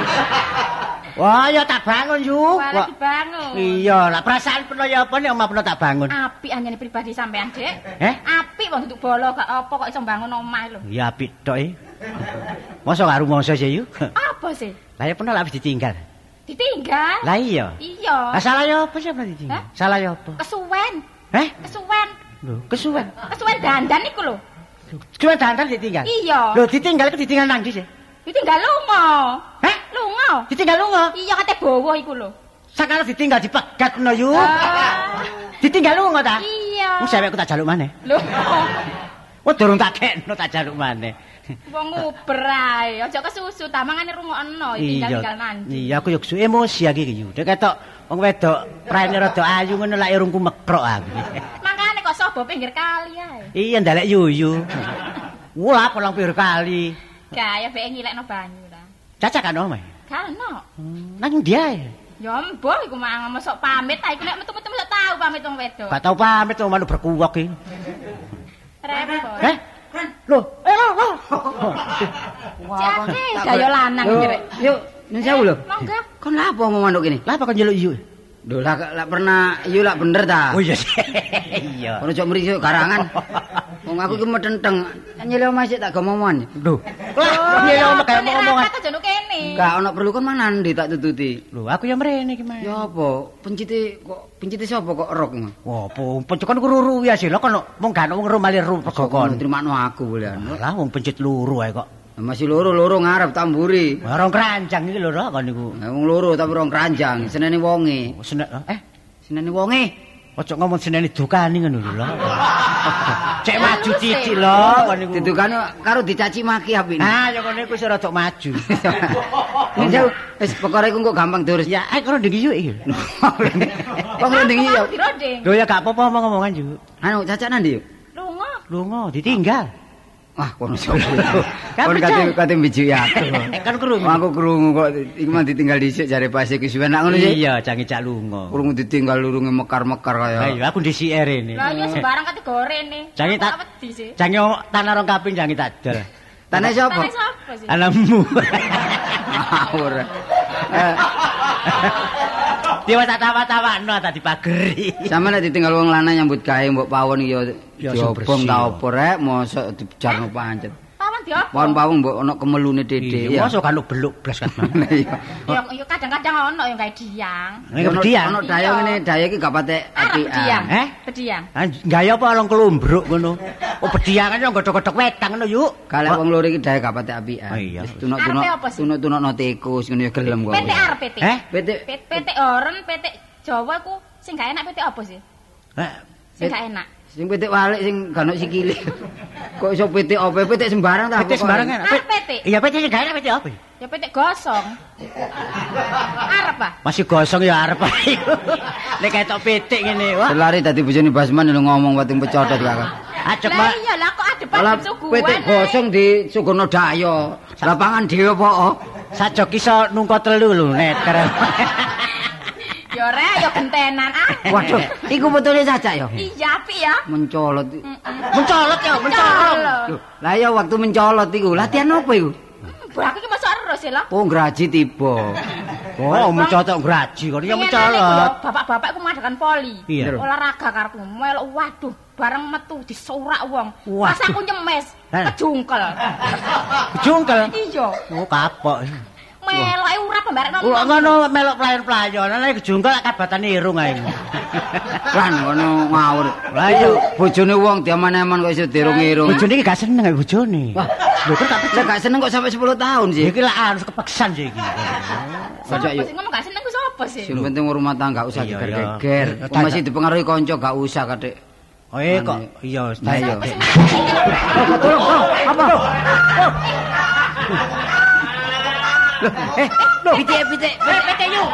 Wah, ya tak bangun yu. Walah dibangun. Iya, lah perasaan peno ya apa nek omah peno tak bangun. Apik anjene pribadi sampean, Dik. Eh? Apik wong duduk bolo gak apa kok iso bangun omah lho. Ya apik tok e. Mosok karo mongso sih yu. Apa sih? Lah ya peno lak wis ditinggal. Ditinggal? Lah iya. Iya. Lah salah ya apa sih peno ditinggal? Hah? Salah ya apa? Kesuwen. Eh? Kesuwen. Lho, kesuwen. Kesuwen dandan iku lho. Cuma dandan ditinggal. Iya. Lho ditinggal iku ditinggal nang ndi sih? Ditinggal lunga. Heh? Lunga. Ditinggal lunga. Iya kate bawa iku lho. Sakala ditinggal dipegat peno yu. Ah. Ditinggal lunga ta? Iya. Wong sewekku tak jaluk maneh. Lho. Wong durung tak kekno tak jaluk maneh. Wong nguber ae. Aja kesusu ta mangane rungokno tinggal-tinggal nanti. Iya, aku yo emosi iki yu. Dek ketok wong wedok praene rada ayu ngono lak urungku mekrok aku. Makane kok sobo pinggir kali ae. Iya ndelek yuyu. Wah, kolong pinggir kali. Gaya beke ngilekno banyu ta. Caca kan omah. Kan ono. Nang dia. Ya mbah iku mang mosok pamit ta iku nek metu-metu mosok tau pamit wong wedok. Gak tau pamit wong manuk berkuwok iki. Repot. Heh? Loh, eh loh, loh. Jake daya lanang jere. Yuk, nyun sewu lho. Monggo. Kon lha apa ngomong manuk ini? Lah apa kon njeluk iyu? Lho lah lah pernah iyu lah bener ta. Oh iya. Iya. Ono cok mriki garangan. Wong aku iki metenteng. Nyele omah sik tak gomomongan. Lho. Lah piye yo kaya omongan. Kata jono kene. Gak ono perlu kon mana ndi tak tututi. Lho, aku ya mrene iki, Mas. Ya apa? Pencite kok pencite sapa kok erok ngono? Wah, apa pencet kon ruru ya sih. Lah kon mung gak ono wong rumali ru pegokon. Trimakno aku bolehan. Lah wong pencet luru ae kok. Masih loro-loro ngarep tamburi. Rong keranjang iki lho kon niku. Nah, wong loro tapi rong keranjang. Senene wonge. Sene eh Senene wonge. ojo ngomong senene dukani ngono lho. Cek maju cici lho kon niku. Didukane karo dicaci maki apine. Ah, ya kene iku wis rada maju. Njau wis perkara iku kok gampang terus. Ya, eh karo ndingi yuk iki. Kok ngendingi ya. Diroding. Lho ya gak apa-apa ngomong-ngomongan yuk. Anu cacak nandi yuk. Lunga. Lunga ditinggal. Wah, kono sapa. Kan Kon kate kate mbiju ya. Kan krungu. Aku krungu kok iku mah ditinggal dhisik jare pas iki suwe nak ngono sih. Iya, jange cak lunga. Krungu ditinggal lurunge mekar-mekar kaya. Lah iya aku ndisi rene. Lah iya sembarang kate gorene. Jange tak wedi sih. jange tanah rong kaping jange tak dol. Tanah sapa? Tanah sapa sih? Anakmu. Ngawur. Dewa tak tawa-tawakno tadi pageri. Sama nek ditinggal wong lanang nyambut gawe mbok pawon iki ya Ya, diobong bersih. ta opo rek mosok dijarno pancet. Pawan diopo? Pawon-pawon mbok ono kemelune dede Iya, ya. mosok kan beluk blas kan. Iya. Ya ya kadang-kadang ono yang gawe diang. Nek bediang. Ono daya ngene, daya iki gak patek Arep apian. bediang. Eh? Bediang. Ah, gaya apa long kelombruk ngono. Oh, bediangan yo godhok-godhok wetang ngono yuk. Kalau wong loro iki daya gak patek apian. Oh, iya. Wis tunuk-tunuk Arepe apa sih? tunuk-tunukno tikus ngono ya gelem kok. P T arep P T. Eh? Pete P T oren, P T Jawa ku sing gak enak P T apa sih? Eh, Sing gak enak. sing petik walik sing gak ono sikile. Kok iso petik opo petik sembarang ta? P T sembarang enak. Arep P T. Iya, P T sing gak enak P T apa? Ya P T gosong. Arep ah. Masih gosong ya arep ae. Nek ketok pitik ngene, wah. Selari dadi bojone Basman lho ngomong wating pecodot kakak. Ajek, Lah Pak. iya lah kok ada Lah padha suguhan. petik gosong di Sugono Dayo. Lapangan dhewe apa? Sajok iso nungko telu lho, neter. Ya rek ya gentenan ah. Waduh, iku betule cacak ya. Iya apik ya. Mencolot. Mencolot ya, mencolot. Loh, lah ya waktu mencolot iku latihan apa iku? Bah aku iki masuk terus ya lho. Oh, graji tiba. Oh, mencolot graji kok ya mencolot. Bapak-bapak ku mengadakan poli. Iya. Olahraga karepku melok waduh bareng metu disorak wong. Waduh. Pas aku nyemes, Hah? kejungkel. Jungkel. Iya. Oh, kapok. Meloke urap bareng Kok ngono melok playon-playon, nek kejungkel kabatan irung ae. Lan ngono ngawur. Lah iya. Bojone wong diaman-aman kok iso dirung-irung. Bojone iki gak seneng karo bojone. Wah, lho kok tak Lah gak seneng kok sampai sepuluh tahun sih. iki lah anu kepeksan sih iki. Cacak yuk. Sing ngomong gak seneng ku sapa sih? Sing penting rumah tangga gak usah Iya, geger-geger. iya. Kok masih dipengaruhi kanca gak usah kadek. Oh eh kok iya Nah, iya. tolong tolong apa Loh, eh, loh, Pitik pitik. P T yuk.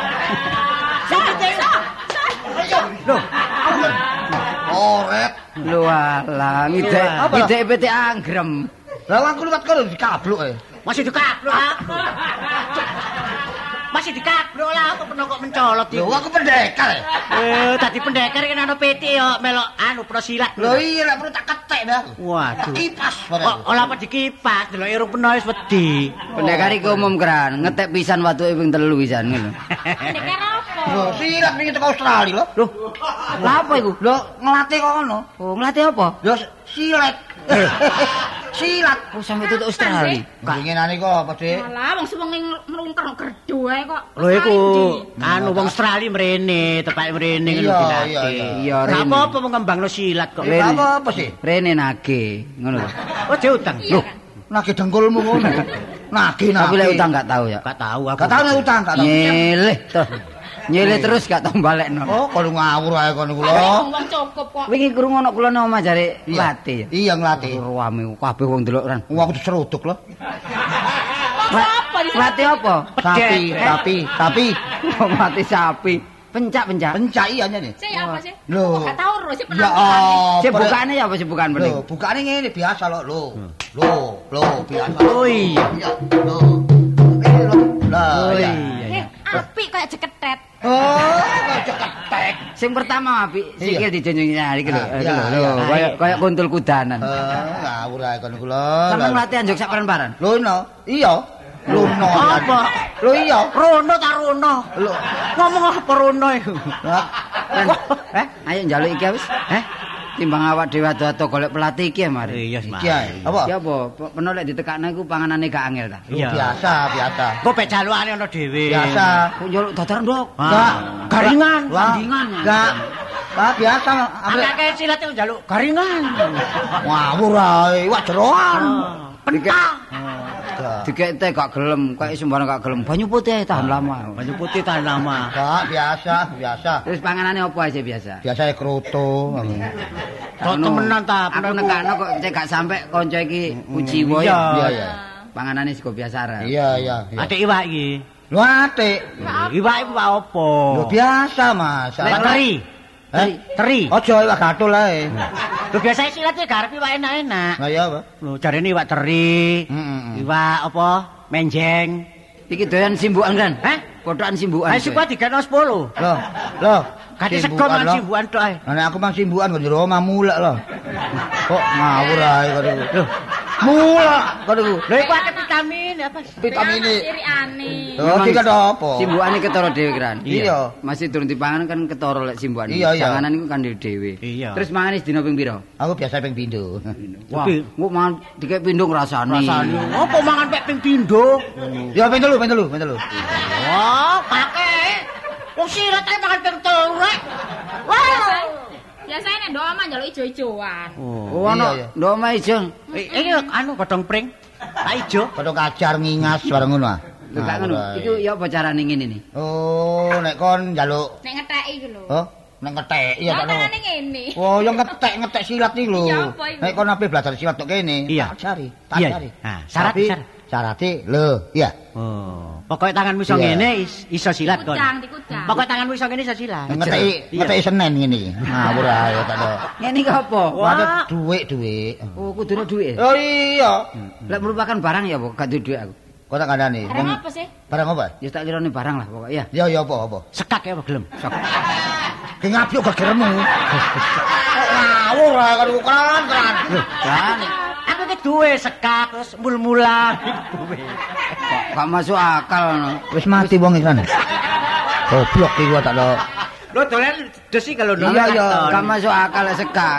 loh, Orek. Lho alah, ngidek ngidek pitik anggrem. Lah aku liwat kono dikabluk e. masih dikablok aku. Masih dikablok lah aku pernah kok mencolot Lho iku. aku pendekar. e. Eh, tadi pendekar kan ana P T yo melok anu prosilat. Lho iya lek perlu tak ketek dah. Waduh. Kipas Kok ora apa dikipas, delok irung peno wis wedi. Pendekar iki umum keran, ngetek pisan watuke ping telu pisan ngono. Pendekar apa? Lho silat ning teko Australia lho. Loh, lha apa iku? Lho ngelatih kok ngono. Oh, ngelatih apa? Lho silat. Silat. Oh, sampai tutup Australia. Winginane kok apa, Dik? Alah wong suwengi ngrungker gerdo ae kok. Lho iku anu wong Australia mrene, tepake mrene ngono Iya, dilatih. iya, iya. Iya, Gak Rene. apa-apa mengembangno silat kok. Eh, apa apa sih? Rene nage, ngono lho. Oh, diutang. Iya. Nagih dengkulmu ngono. Nagih nagih. Tapi lek utang gak tahu ya. Gak tahu aku. Gak tau nek utang, gak tau. Nyeleh toh. Nyeleh terus gak tau balekno. Oh, kono ngawur ae kono Wong kula. wong cukup kok. Wingi krungu ana kula nang omah jare latih. Iya nglatih. Ruame kabeh wong delok ran. Wong aku diseruduk lho. Apa di Latih apa? Sapi, sapi, sapi. Mati sapi. Pencak-pencak. Pencak iya nih. sih apa sih? Lho. Gak tau terus sih Ya penampilannya. oh. Sik bukane ya apa sih bukan Lho, bening? bukane ngene biasa lho, lho. Lho, lho biasa. Oh iya. Iya, lho. Oke, lho. Oh iya. Eh, apik kayak jeketet. Oh, kok ketek. Sing pertama apik sikil dijunjung nyari iki lho. Ah, Iki iya, lho, iya. kaya kaya kuntul kudanan. Eh, ngawur ae kono kula. Sampe latihan jog sak paran-paran. Lho no. Iya. Luno. Apa? Lho iya. Rono ta rono. Lho. Ngomong apa rono iku? Lah, Eh, ayo njaluk iki wis. Eh, timbang awak dhewe ado-ado golek pelatih iki ya mari. Iya, iki ae. Apa? Ya apa, peno lek ditekakne iku panganane gak angel ta. Iya. Biasa, biasa. Kok pek jalukane ana dhewe. Biasa. Kok njaluk datar ndok. Enggak. Garingan, Wah. tandingan. Enggak. Ah, biasa. Akeh silat itu njaluk garingan. Ngawur ae, wak jeroan. Pentang. Dikekte gak gelem, kayak sembarang gak gelem. Banyu putih tahan lama. Banyu putih tahan lama. Enggak, biasa, biasa. Terus panganane apa aja biasa? Biasa kroto. Kok temenan ta? Aku nekakno kok cek gak sampe kanca iki kuciwa Iya. ya. Iya, iya. Panganane sego biasa ra. Iya, iya, iya. Atik iwak iki. Lu atik. Iwak iku iwak apa? Lu biasa, Mas. Lek teri. Eh? Teri. Ojo iwak gatul ae. Lho biasane silat iki garep iwak enak-enak. Lah iya, Pak. Lho jarene iwak teri. Heeh. Iwak apa? Menjeng. Iki doyan simbukan kan? Hah? Kotokan simbukan. Ayo sik kuwi digano sepuluh. Loh, loh. Kati sego Simbukan, man loh. simbukan tok ae. Nah, aku mang simbukan kok jero omah mulek loh. Kok ngawur ae kok niku. Loh, mulek kok niku. Lho iku akeh vitamin apa? Vitamin ini. Sirikane. Oh, iki kan apa? Simbukane ketara dhewe kan. Iya. Masih durung dipangan kan ketara lek simbukan. Iya, iya. Janganan iku kan dhewe. Iya. Terus mangane sedina ping pira? Aku biasa ping pindho. Wah, Tapi- kok mangan dikek pindho ngrasani. Rasane opo mangan pek ping pindho? Ya ping telu, ping telu, ping telu. Wah, pakai. Wong sirat ae mangan ping telu rek. Wah. Biasane nek ndok omah njaluk ijo-ijoan. Oh, Iya, ana iya. ndok omah ijo. Eh, Iki anu godhong pring. Tak ijo. Padha kacar ngingas bareng ngono ah. Lho gak ngono. Ngawur ae. Iku ya apa carane ngene nih? Oh, nek kon njaluk Nek ngetheki iku lho. oh, nek ngetek iya Ya tak no. carane ngene. Oh, yang ngetek-ngetek silat iki lho. Iya, apa iku? Nek kon ape belajar silat tok kene, Iya. tak ajari, tak Iya. ajari. Nah, syarat- Tapi syarat. syarate lho, iya. Oh, pokoke tanganmu iso Iya. ngene is- iso silat kon. Kudang, dikudang. Pokoke tanganmu iso ngene iso silat. Ngeteki Iya. ngeteki Senen ngene iki. Ngawur ae tak no. Ngene iki apa? Waduh, duit-duit. Oh, kudune dhuwit. Oh iya. Lek merupakan barang ya apa? Gak duwe dhuwit aku. Kok tak kandhani? Barang apa sih? Barang apa? Ya tak kirane barang lah pokok ya. Ya ya apa apa. Sekak ya apa gelem? Ki ngapyo gegermu. Kok ngawur ae kan keren-keren. Kan Aku ki duwe sekak terus mul-mulan. kok gak masuk akal ngono. Wis mati wong iki kan. Goblok iki gua tak do. Lho dolen desi kalau Iya, iya. Gak masuk akal lek sekak.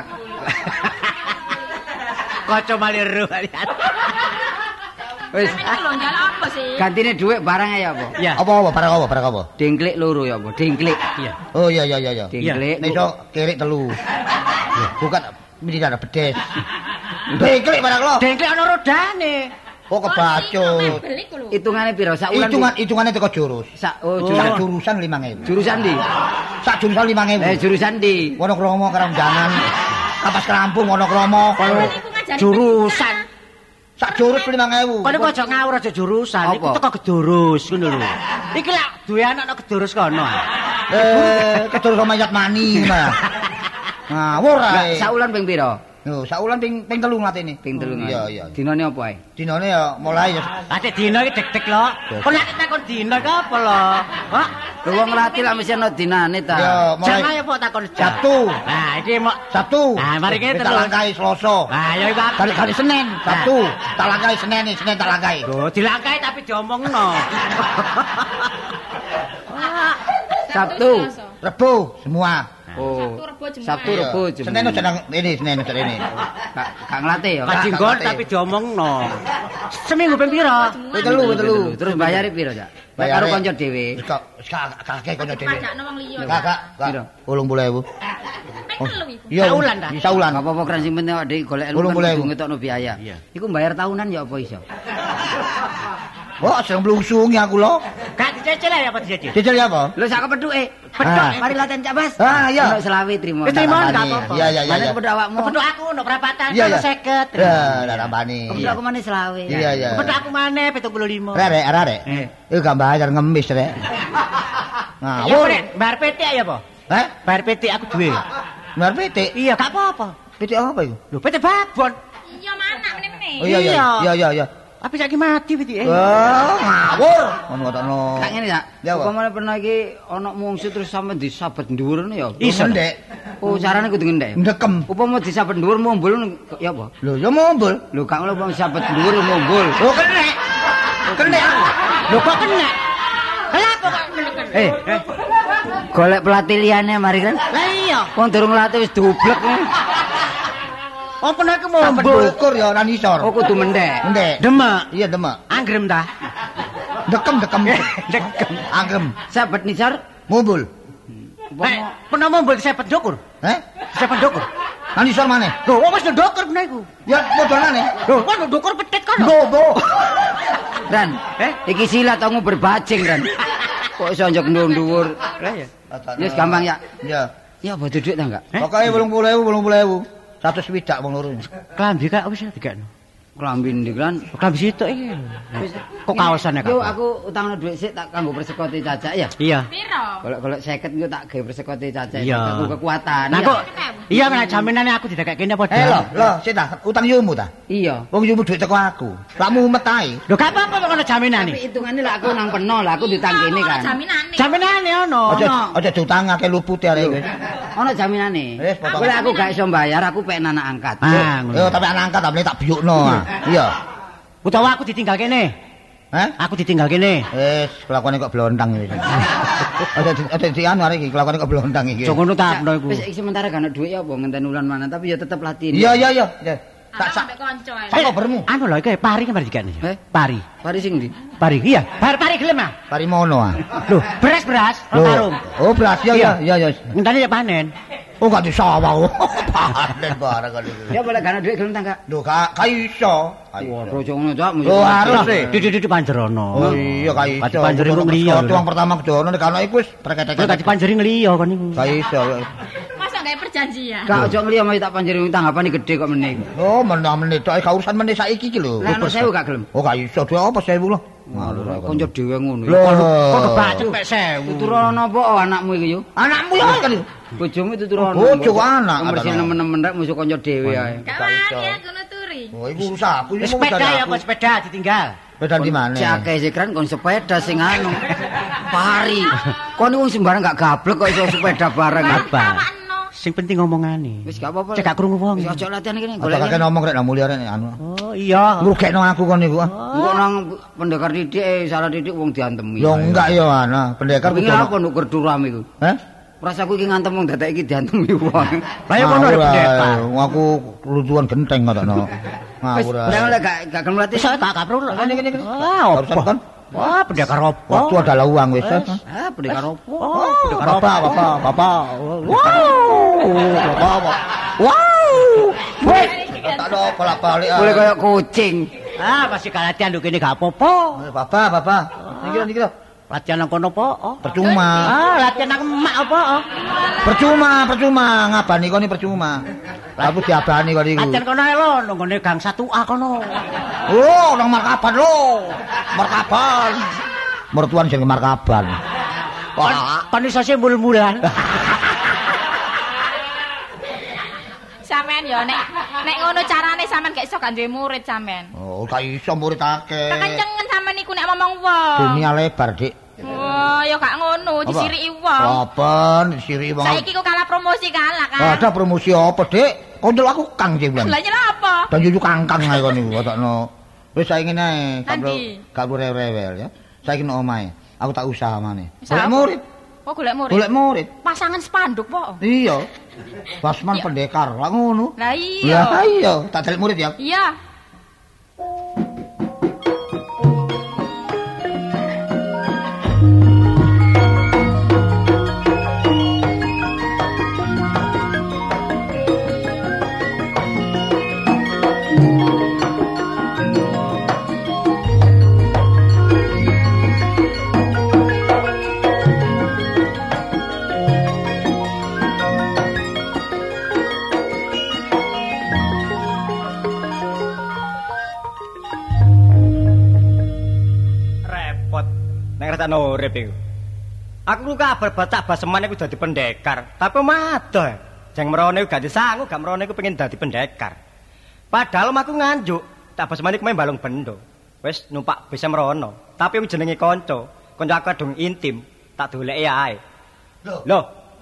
Kaca maliru kalian. Wis Sampeyan lho njaluk apa sih? gantine dhuwit barang ya apa? Ya. Apa apa barang apa barang apa? Dengklik loro ya apa? Dengklik. Iya. Oh iya iya iya iya. Dengklik. Nek iso kirik telu. Bukan mesti ada bedes. Dengklik barang lo. Dengklik ana rodane. Kok kebacut. Beli ku lho. Hitungane piro? Sak wulan? Hitungan hitungane teko jurus. Sak oh Sak jurusan. jurusan lima ribu. Jurusan di? Sak jurusan lima ribu. Eh jurusan di. Wonokromo Karamjangan. Kapas Kerampung Wonokromo. Iku ngajari Jurusan. Sak jurus lima ribu. Kok nek aja ngawur aja jurusan. Iku Apa? teko Gedurus ngono lho. Iki lak duwe anak nang Gedurus kono. Eh, kedurus mayat mani ngono ya. Ngawur ae. Sak wulan ping piro? Yo, sak wulan ping ping telu ngatene. Ping telu. Iya, iya. Dinane apa ae? Dinane ya mulai ya Ate dina iki deg-deg lho. Kok nek takon dina ki apa lho? Hah? Lho wong latih lah mesti ana dinane ta. ya Jam mulai ayo kok takon jam. Sabtu. Nah, iki mok Sabtu. Nah, mari kita tak terus. langkai Selasa. Nah, ya iku. Kali kali Senin, Sabtu. Tak langkai Senin, nih, Senin tak langkai. Lho, dilangkai tapi diomongno. Sabtu. Rebo semua. Oh. Sabtu, Rebo, Jumat. Sabtu, Rebo, Iya. Jumat. Senin udah nang ini, Senin udah ini. Gak gak ngelatih ya. Kak. Kajinggon tapi diomongno. Seminggu ping piro? Ping telu, ping telu. Terus bayare piro, Cak? Bayar Bayare- karo kanca dhewe. Wis kak kakek kono dhewe. Pajakno wong liya. Kakak, Piro? kak. ulung puluh ribu. Ping telu iku. Iya. Saulan dah? Iya, saulan. Gak apa-apa kan sing penting awake dhewe golek ilmu Ulung kan boleh, kudu Bu. ngetokno biaya. Iya. Iku bayar tahunan ya apa iso? Wah, sedang blungsungi aku lo. Gak dicecil ya apa dicecil? Cecil ya apa? Lho sak kepethuke. Ah. Mari latihan Cak Bas. Ah, iya. Ono selawe trimo. Wis trimo, Tak gak tambani. apa-apa. Iya, iya, iya. Mana iya. kepethuk awakmu? Kepethuk aku no perapatan Iya, iya. seket. Ya, tak tambani. Kepethuk aku mana selawe. Iya, iya. Kepethuk aku maneh pitung puluh lima. Rek, rek, rek. Eh. Iku gak bayar ngemis, rek. Ya Ngawur. rek, bayar P T ya apa? Hah? Bayar P T aku duwe. Bayar P T? Iya, gak apa-apa. P T apa itu? Lho, P T babon. Iya mana meneh-meneh. Oh iya, iya. Iya. Iya, iya, iya. Tapi saiki mati piti. Wah, ngawur. Ngono ngono. Kak ngene ya. Ya, apa? Upamane pernah iki ana mungsu terus sampe disabet dhuwur ya. Iso, Ndek. Oh, carane kudu ngendek. Ndekem. Upama disabet dhuwur mumbul ya apa? Lho, ya mumbul. Lho gak ngono upama disabet dhuwur mumbul. Oh, kena. Kena. Lho kok kena? Kenapa kok kena? Eh, eh. Golek pelatih liyane mari kan. Lah iya. Wong durung latih wis dublek. Apa nek Sampai mumbul? dukur ya ora nisor. Oh kudu mendek. Ndek. Demek. Iya, demek. Anggrem ta? Dekem, dekem. Dekem. Anggem. Sabet nisor. Mumbul. Eh, pernah mumbul disepet ndukur. Eh? Disepet ndukur. Nang nisor maneh. Lho, wis ndukur kena iku. Ya modalane. Lho, kok ndukur petit kan? Bobo. Ran, eh iki silat aku berbajing Ran. Kok iso njok dhuwur. Lah ya. Wis gampang ya. Ya. Ya bodo dhuwit ta enggak? Pokoke wolung puluh ewu, wolung puluh ewu. seratus swidak wong loro. Klambi kak wis dikekno. Klambi ndi kan? Klambi sitok iki. Wis Kok kaosane kak? Yo aku utangno dhuwit sik tak kanggo persekoti cacak ya. Iya. Piro? Golek-golek seket engko tak gawe persekoti cacak. Iya. Aku kekuatan. Nah ya. kok iya kan jaminane aku didekekne apa? Eh lho, lho, sik ta, utang yumu ta? Iya. Wong yumu dhuwit teko aku. Lah mumet ae. Lho gak apa-apa kok ana jaminane. Tapi hitungane lah aku nang peno lah aku ditang kene kan. Jaminane. Jaminane ono. Aja Ono. aja diutangake lupute arek iki. Ono jaminane. Wis, potong. Boleh aku gak iso bayar aku pengen anak angkat. Ah, ngono. Yo tapi anak angkat tapi tak biyukno. Iya. Utawa aku ditinggal kene. Hah? Aku ditinggal kene. Wis, kelakuane kok blontang iki. Aja aja di anu arek iki, kelakuane kok blontang iki. Jok ngono ta apno iku. Wis iki sementara gak ono dhuwit ya apa ngenteni wulan mana tapi ya tetep latih. Iya iya iya. Ya. Tak Tak sak sampe kanca. sak bermu. Anu lho iki pari kan mari dikene. Eh? Pari. Pari sing ndi? Pari iya. Pari pari gelem ah. Parimono ah. Lho, beras-beras Lho. karung. Oh, beras ya ya ya ya. Ngenteni ya panen. Oh, gak disawah. Panen barang kali iki. Ya boleh gak ono dhuwit gelem ta enggak? Lho, gak gak iso. Waduh aja ngono cak. Oh, harus sih. Duduk-duduk panjerono. Oh iya gak iso. Kati panjeri wong liya. Wong pertama kedono nek ana iku wis Kowe preketek. kati panjeri ngeliya kon niku. Gak iso. Masa gak perjanjian? Gak aja ngeliya mau tak panjeri tanggapane gede kok meneh. Oh, meneh tok gak urusan meneh saiki iki lho. Lah ono sewu gak gelem. Oh, gak iso. Dhewe apa sewu lho. Kanca dhewe ngono. Lho, Kok kebacet pek sewu. Tuturono apa oh, anakmu iki yo? anakmu ya kan. Bojomu tuturono. Bojo anak. Mesti nemen-nemen rek musuh kanca dhewe ae. Gak wani aku nuturi. Oh, iku urusan aku iki mau Sepeda ya apa sepeda ditinggal. Sepeda di mana? Si akeh sih keren kon sepeda sing anu. Pari. Kon wong sembarang gak gablek kok iso sepeda bareng. Apa? Tawakno. Sing penting ngomongane. Wis gak apa-apa. Cek gak krungu wong. Wis aja latihan kene Golek golek. kakek ngomong rek nang mulia rek anu. Oh iya. Ngrugekno aku kon niku. ah. Engko nang pendekar didik eh salah didik wong diantemi. Yo enggak yo ana, pendekar Wingi kudu. apa nduk kerduram iku? Heh? Rasaku iki ngantem wong dadak iki diantemi wong. Lah ya kono Ngawur ae. pendekar. Wong aku lucuan genteng ngono. Wis Ngawur. ora oleh gak gak gelem latih. Wis gak gak perlu. Kene kene kene. Ah, Barusan apa? kan Wah, pendekar opo? waktu adalah uang wis. Ah, pendekar opo? Oh, pendekar Bapak, opo? bapak, bapak. Wow. Bapak. Wow. Woi. Tak ada bolak-balik. ah. Boleh koyo kucing. Ah, masih latihan lho kene gak apa-apa. Eh, Bapak, bapak. Niki lho, niki lho. Latihan nang kono apa? Oh. Percuma. Ah, latihan nang emak apa? Oh. Percuma, percuma ngabani koni percuma. Aku diabani kok niku. Latihan kono ae lho, nang ngene gang satu A kono. Oh, nang markaban lho. Markaban. Mertuan sing markaban. Wah, Kon iso sih mul-mulan. Sampean yo nek nek ngono carane sampean gak iso gak duwe murid sampean. oh, gak iso murid akeh. Tak kencengen sampean niku nek ngomong wong. Dunia lebar, Dik. Wah, yo gak ngono, disiriki wong. Apa? Disiri wong. Saiki kok kalah promosi kalah kan. Ada promosi apa, Dik? Kondol aku Kang sing bilang. Lah nyela apa? Dan yuyu kangkang ae kon niku otokno. Wis saiki ngene, gak perlu Nanti. gak perlu rewel ya. Saiki nang omahe. Aku tak usaha maneh. Usaha Golek apa? murid. Oh, golek murid. Golek murid. Pasangan spanduk po. Iya. Wasman pendekar, lah ngono. Lah iya. Lah iya, tak dalek murid ya. Iya. Repot nek ngrasakno urip iku. Aku ku kabar bacak baseman iku dadi pendekar, tapi madoh. Jeng merone gak disangu, gak merone iku pengen dadi pendekar. Padahal aku nganjuk, tak baseman iku main balung bendo. Wis numpak bis mrono. Tapi jenenge kanca. Kanca aku dong intim, tak doleki ae. Lho. Lho,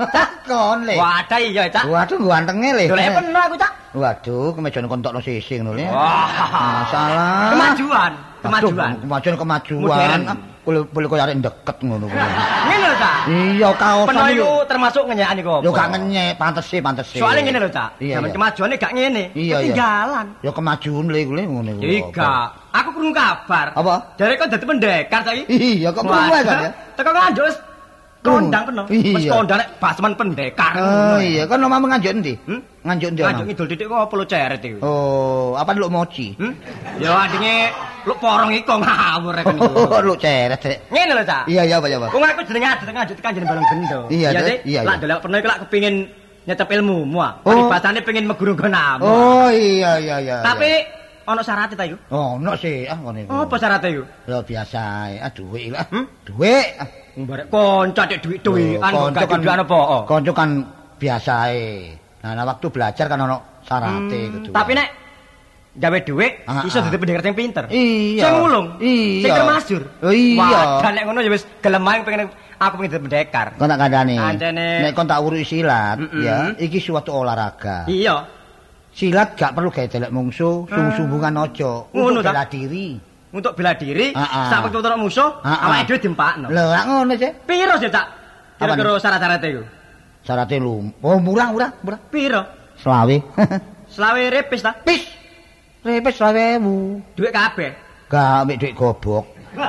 Kon le. wadah iya, Cak. Waduh gantenge le. Doleki peno aku, Cak. Waduh, kemejane kontokno sisih ngono le. Wah, salah. Kemajuan, kemajuan. Aduh, kemajuan kemajuan. Modern. Boleh boleh koyo arek deket ngono kuwi. Ngene lho, Cak. Iya, kaosan Peno iki. iku termasuk ngenyekan iku apa? Yo gak ngenyek, pantes sih, pantes sih. Soale ngene lho, Cak. Iya, Zaman iya. kemajuane gak ngene. Iya, iya. Ketinggalan. Yo kemajuan le kuwi ngono iku. Iya, aku krungu kabar. Apa? Jare kok dadi pendekar saiki. Iya, kok krungu kan ya? Teko Nganjuk wis kondang peno. Wis Iya. kondang nek basman pendekar. Oh iya, kan omahmu nganjuk endi? Hmm? Nganjuk endi? Nganjuk omahmu? ngidul titik kok apa lo ceret iki? Oh, apa lu moci? Hmm? Ya adine lu porong iku ngawur rek niku. Oh, lu ceret, Dek. Ngene lho, Cak. Iya, iya, Pak, ya, Pak. Wong aku jenenge Adit Nganjuk tekan jeneng Balong Gendo. Iya, Dek. Dik? Iya, Lak iya. delok pernah iku lak kepengin nyetep ilmumu ah. Oh. Peribadane pengen meguru gonamu. Oh, iya, iya, iya. Tapi ana syaratnya ta iku? oh, ono sih, ah ngono iku. Apa syaratnya iku? Ya biasa ae, ah dhuwit lah. Hmm? Dhuwit. Mbarek kanca dik dhuwit-dhuwitan kok gak dhuwit apa? Kanca kan biasa ae. Nah, nah, waktu belajar kan ono syarate Hmm, kudu. tapi nek gawe dhuwit Ah, iso ah. dadi pendekar sing pinter. Iya. Sing ngulung. Iya. Sing termasjur. Oh, iya. Wah, nek ngono ya wis gelem ae pengen aku pengen dadi pendekar. Kon tak kandhani. Kancane- Nek kon tak urus silat, Mm-mm. ya, iki suatu olahraga. Iya. Silat gak perlu gawe delek mungsuh, sung-sunggungan aja. Ngono Untuk ta? bela diri. Untuk bela diri, Ah, ah. sak wektu ora musuh, Ah, ah. awake dhewe diempakno. Lho, lak ngono sih. Piro sih, Cak? Kira-kira syarat-syaratnya iku. Syaratnya lu. Oh, murah, murah, murah. Piro? Selawe. Selawe repis ta? Pis. Repes selawewu. Dhuwit kabeh. Gak ambek duit gobok.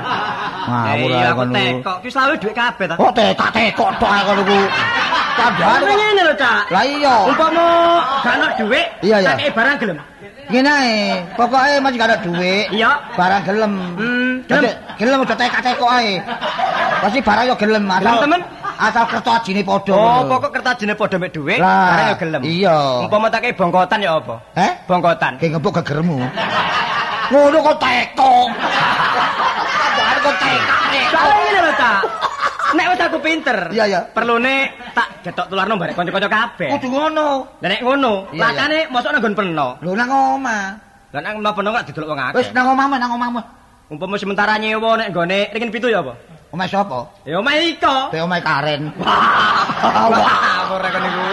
Eh, Ngawur iya ae aku kon. tekok. Ki selawe dhuwit kabeh ta? Kok tekak-tekok tok ae kon iku. Kandhane. Ngene lho, Cak. Lah iya. Umpama gak ono dhuwit, Iya, iya. tak kei barang gelem. Ngene ae, pokoke masih gak ada duit. Iya. Barang gelem. Hmm, Gelem. gelem. Gelem aja tekak-tekok ae. Pasti barang yo gelem asal. Gelem, temen? Asal kertas ajine padha. Oh, ngono. pokok kertajine padha mek dhuwit, Lah, barang yo gelem. iya. Umpama tak kei bongkotan ya apa? Heh? Bongkotan. Kayak ngepuk gegermu. Ngono kok tekok. Kandhane kok tekak-tekok. Soale ngene lho, Cak. Nek wis aku pinter. Iya, iya. Perlune tak getok tularno barek kanca-kanca kabeh. Kudu ngono. Lah nek ngono, Iya, lakane mosok nang nggon peno. Lho nang omah. Lah nang omah peno gak didelok wong akeh. Wis nang omahmu, nang omahmu. Umpama sementara nyewa nek nggone ringin pitu ya apa? Omah sapa? Ya omah iko. Be omah Karen. Wah, ora kene iku.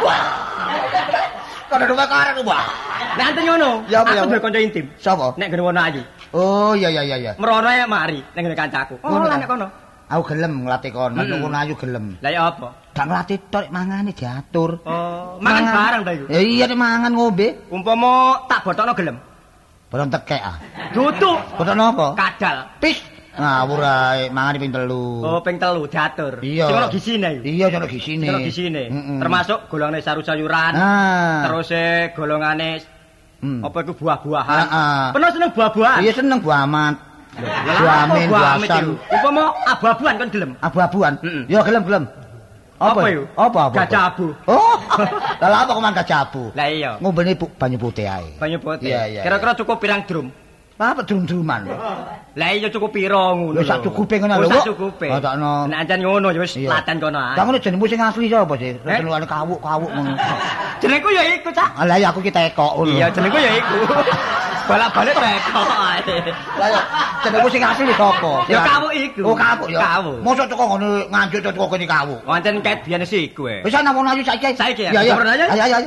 Kok ada omah Karen, Wah. Nek anten ngono, Ya, apa, ya, aku apa? duwe kanca intim. Sapa? Nek ngene wono ayu. Oh, iya iya iya iya. Merono ae mari nek ngene kancaku. Oh, Ngono lah ta? nek kono. Aku gelem nglatih kon, nek Mm-mm. ngono ayu gelem. Lah ya apa? Gak nglatih tok mangane diatur. Oh, mangan barang ta iku. Ya iya nek mangan ngombe. Umpama tak botokno gelem. Barang tekek ah. Dudu Botokno apa? kadal. Pis. Ngawur ae, mangan ping telu. Oh, ping telu diatur. Iya. Sing ono gisine iku. Iya, sono gisine. Sing ono gisine. Mm-mm. Termasuk golongane sayur-sayuran. Nah. Terus e golongane Hmm. apa iku buah-buahan. Heeh. Penuh seneng buah-buahan. Iya seneng buah amat. Lah, Buah apa amin, buah buah amit asan. iku? Umpama abu-abuan kon gelem. Abu-abuan. Mm-mm. Ya gelem-gelem. Apa iku? Apa apa? Gajah abu. Oh. Lah apa kok mangan gajah abu? Lah iya. Ngombene bu- banyu putih ae. Banyu putih. Iya, iya, Kira-kira cukup pirang drum? Apa drum-druman? Lah iya cukup pira ngono. Lho, sak cukupe ngono lho, Oh, sak Wak. cukupe. Oh, takno. Nek ancen ngono ya wis Iya. latan kono ae. Lah ngono jenengmu sing asli sapa sih? Eh? Jenengane kawuk-kawuk ngono. Jenengku ya iku, Cak. Lah ya aku ki tekok ngono. Iya, jenengku ya iku. Balak-balik tekok ae. Lah ya jenengmu sing asli sapa? Ya kawuk iku. Oh kawuk ya. Kawuk. Mosok teko ngono nganjuk teko kene kawuk. Wancen ket biyen sih iku e. Wis ana wong ayu saiki. Saiki ya? Iya iya. Sabar aja. Ayo ayo ayo.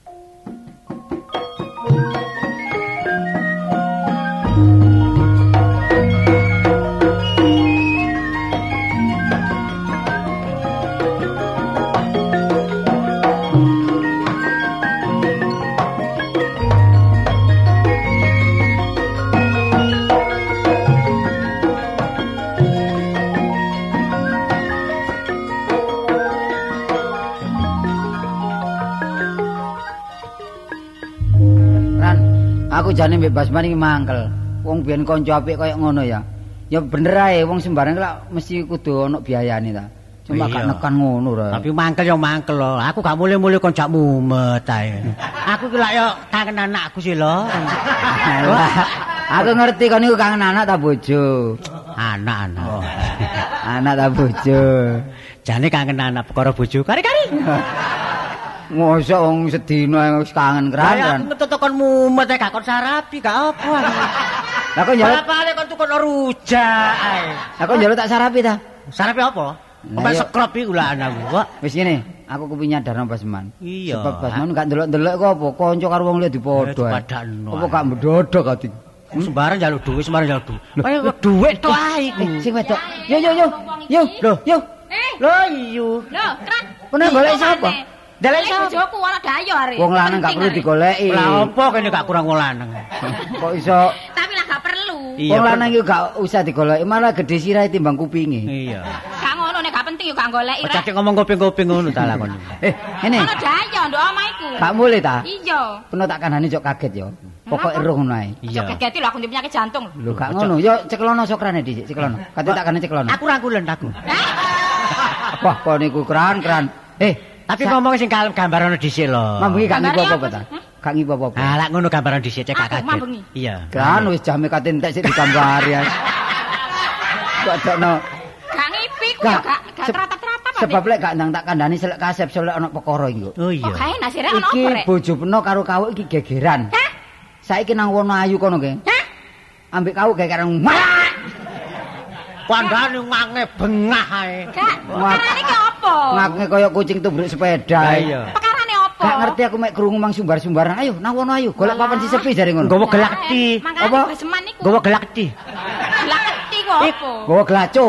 Ran, aku jane mbek Basman iki mangkel. Wong biyen kanca apik kaya ngono ya. Ya bener ae wong sembarang lak mesti kudu ono biayane ta. Cuma Iya. gak nekan ngono ra. Tapi mangkel ya mangkel lho. Aku gak mulai-mulai konjak mumet ae. Aku ki lak yo kangen anakku sih lho. Wah, aku ngerti kon niku kangen anak ta bojo. Anak-anak. Anak ta bojo. Jane kangen anak perkara bojo. Kari-kari. Mosok wong sedina wis kangen Lah keran. aku ngetut kon mumet ae gak kon sarapi gak apa. Lah kok njaluk Bapakne kon tukokno rujak ae. Lah kok njaluk tak sarapi ta? Sarape apa? Ombak Ayo. sekrop iki ulah anakku kok. Wis ngene, aku kepengin nyadarno Basman. Iya. Sebab Basman gak ndelok-ndelok kok apa, kanca karo wong liya dipadha. ae. dipadakno Apa ae. gak mbedodok ati? Sembarang njaluk duit, sembarang njaluk duit. Kaya duit tok ae iku. Eh, sing wedok. Yo yo yo. Yo, Loh. yo. Eh, Lho iyo. lho, Krak. Pernah golek sapa? Dalek Golek sapa? bojoku ora dayo are. Wong lanang gak perlu digoleki. Lah apa kene gak kurang wong lanang. Kok iso Tapi lah gak perlu. wong lanang iku gak usah digoleki, malah gedhe sirahe timbang kupinge. Iya. Gak ngono nek gak penting yo gak goleki rek. Cacik ngomong kuping-kuping ngono ta lakon. Eh, ngene. Ono dayo ndok omah iku. Gak mulih ta? Iya. Peno tak kandhani cok kaget yo. Pokoke roh ngono ae. Iya. Gegeti lho aku ndek penyakit jantung. Lho gak ngono, yo ceklono sokrane dhisik, ceklono. Kate tak kandhani ceklono. Aku ra kulen aku. Wah, kok niku keran-keran. Eh, Tapi ngomong sing kalem gambaran dhisik lho. mambengi gak ngipo Gambare apa apa ta? sih? Gak ngipo apa. Ah, lak ngono gambaran dhisik cek Aku kaget. mambengi. Iya. Kan wis jame kate entek sik digambari ya. Kok dokno. Gak ngipi ku Gak. yo gak gak Se- teratat-teratat. Sebab lek gak ndang tak kandhani selek kasep selek ana perkara iki. kok. Oh Kok iya. gawe nasi rek ono Iki apa rek? bojo peno karo kawuk iki gegeran. Hah? Saiki nang Wonoayu kono ge. Hah? Ambek kawuk gegeran. Pandane ngange bengah ae. Gak. Wah. Perkarane ki apa? Ngake kaya kucing tubruk sepeda. Lah ae. iya. Perkarane apa? Gak ngerti aku mek krungu mang sumbar-sumbaran. Ayo nang Wonoayu golek papan si sepi jare ngono. Nggawa gelak di. Makane Apa? baseman niku. Gowo gelak di. Gelak keti ku apa? Gowo glaco.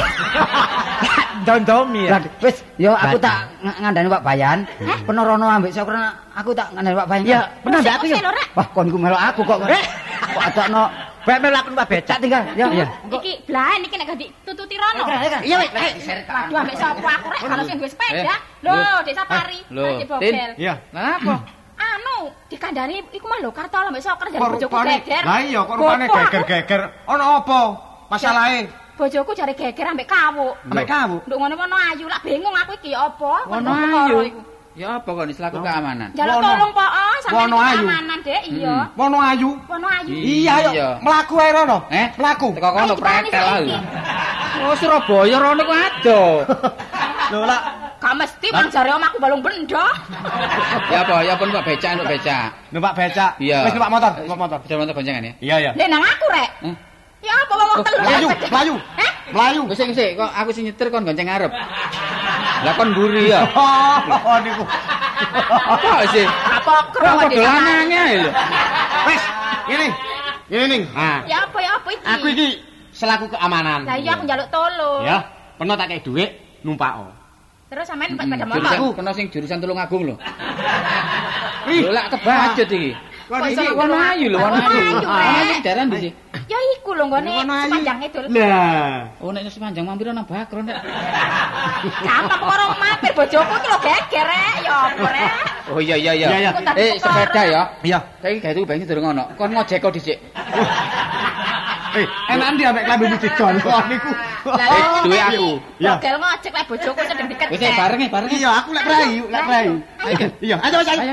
Dondomi ya. Lah wis yo aku Badan. tak ng- ngandani Pak Bayan. Peno rono ambek sokran aku tak ngandani Pak Bayan. Ya, pernah ndak aku ya. Usih, lho, Rek. Wah, kon iku melok aku kok. Kok adakno Bae melaku Pak Becak. cak tinggal. Ya. Iya. Iki blaen iki nek gak ditututi rono. Iya, Wek. Waduh ambek sapa aku rek kalau sing duwe sepeda. Lho, Dek Sapari. Lho, Aja Tin. bogel. Iya. Lah apa? Anu, dikandani iku mah lho kartol ambek soker jare Kok bojoku rupane geger. lah iya kok rupane Gopo aku. geger-geger. Ono apa? Masalahe Bojoku jare geger ambek kawuk. ambek kamu. Nduk ngono-ngono ayu lak bingung aku iki ya apa. Wono ayu. Ya apa kok ini selaku keamanan? Jaluk Wono. tolong po, oh, sampe Wono ayu. keamanan, Dek. Iya. Wono ayu. Wono ayu. Iya, Iya. ayo mlaku ae rono. Eh? Mlaku. Teko kono Ayo, dipani pretel saiki. aku. Oh Surabaya rono ku ado. Lho lah Gak mesti bang jare omahku balung bendo. Ya apa? Ya pun Pak Becak, Pak Becak. numpak becak. Iya. Wis numpak motor, numpak motor. Bisa motor boncengan ya? Iya, iya. Lek nang aku rek. Eh? Ya apa wong Oh, telu. Melayu, melayu. Hah? Melayu. Wis sing sik, kok aku sing nyetir kon gonceng ngarep. Lah kon mburi ya. Oh, niku. Apa sih? Apa kro Kok Dek padha Sapari? lanange ae lho. Wes, ngene. Ngene ning. Nah, Ya apa ya apa iki? aku iki selaku keamanan. Lah iya aku njaluk tolong. Ya, pernah tak kei dhuwit numpak. Terus sampean numpak sepeda Jurusan motor. kena sing jurusan Tulungagung lho. Ih, Lho lak kebajut iki. Kok Iki iki Wono Ayu lho, Wono Wono Ayu. Ayu, Wono Ayu Rek. daerah ndi sih? Ya iku lho nggone Wono ayu. sepanjang idul. Lah, Oh nek sepanjang mampir nang Bakron nek. Gampang kok orang mampir bojoku iki lho geger rek. Ya apa rek? Oh iya iya iya. Iya, iya. Eh sepeda ya. iya. Saiki gawe tuku bensin durung ono. Kon ngojek kok dhisik. Eh, enak ndi ambek klambi didol kok niku. Lah Eh, iya, duwe iki. aku. Iya. Bogel ngojek lek bojoku sedeng deket. Wis ae bareng e, bareng e. Iya, aku lek rayu, lek rayu. Ayo. Iya, ayo wis ayo. Ayo.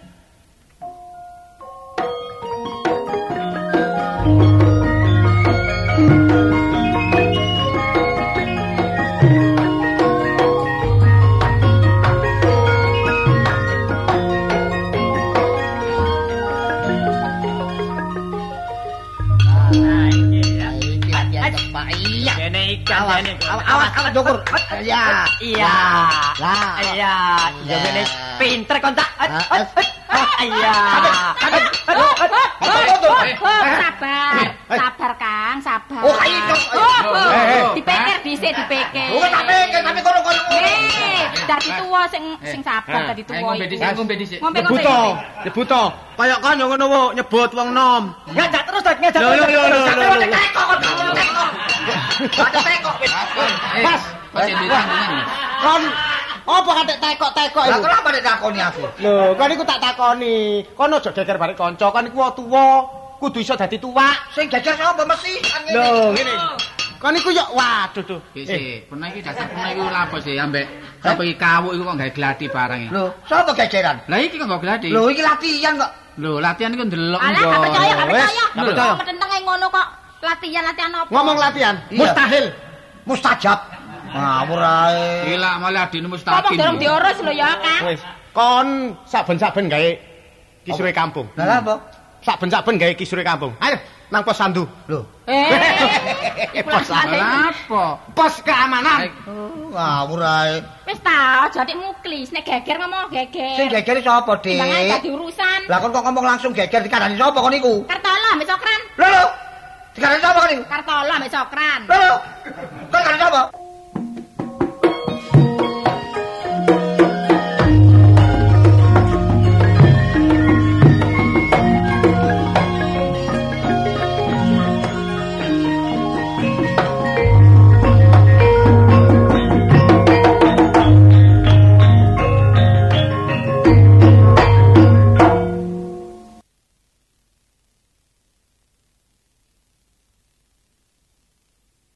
Kene ikan kene. Awas, awas ndukur. Ya. Iya. Lah. Iya. Yo kene pinter kon tak. Iya. Sabar, sabar Kang, sabar. Oh, ayo dong. Oh, oh. Eh, eh. Dipikir dhisik, dipikir. Oh, tak pikir, tapi kono-kono. Eh, dadi tuwa sing sing sabar Eh, dadi tuwa. Ayo ngombe iku. dhisik, ngombe dhisik. Ngombe ngombe. Nyebuto, nyebuto. Kayak kan yo ngono wo, nyebut wong nom. Ngajak terus dak ngajak. Lho, lho, lho, lho, lho, lho. Ada tekok. Pas. Pas ini tanggungan. Kon apa katik tekok-tekok Lah iku? kenapa nek takoni aku? Lho, kan iku tak takoni. Kon aja geger bareng kanca, kan iku tuwa, kudu iso dadi tuwak. Sing jajar sapa mesti kan ngene. Lho, ngene. Kon iku yo waduh tuh. Wis sih, pernah iki dasar pernah iku lapo sih ambek sapa iki kawuk iku kok gawe gladi barang iki. Lho, sapa gegeran? Lah iki kok gak gladi. Lho, iki latihan kok. Lho, latihan iku ndelok Alah, gak percaya, gak Wes, percaya. gak percaya. Metentenge ngono kok. Latihan-latihan apa? Ngomong latihan, Iya. mustahil. Mustajab. Ngawur ae. Gila malah adine Ngomong mustaqim. dorong diurus lho ya, Kang. Wis, kon saben-saben gawe kisuwe kampung. Lah apa? saben-saben gawe kisure kampung. Ayo nang pos sandu. Lho. Eh. Pos Apa? pos keamanan. Ngawur ae. Wis ta, aja dik muklis, nek geger ngomong geger. Sing geger sapa, Dik? Jangan dadi urusan. Lah kon kok ngomong langsung geger dikandani sapa kon niku? Kartolo ambek Cokran. Lho lho. Dikandani sapa kon niku? Kartolo ambek Cokran. Lho lho. Kon kandani sapa?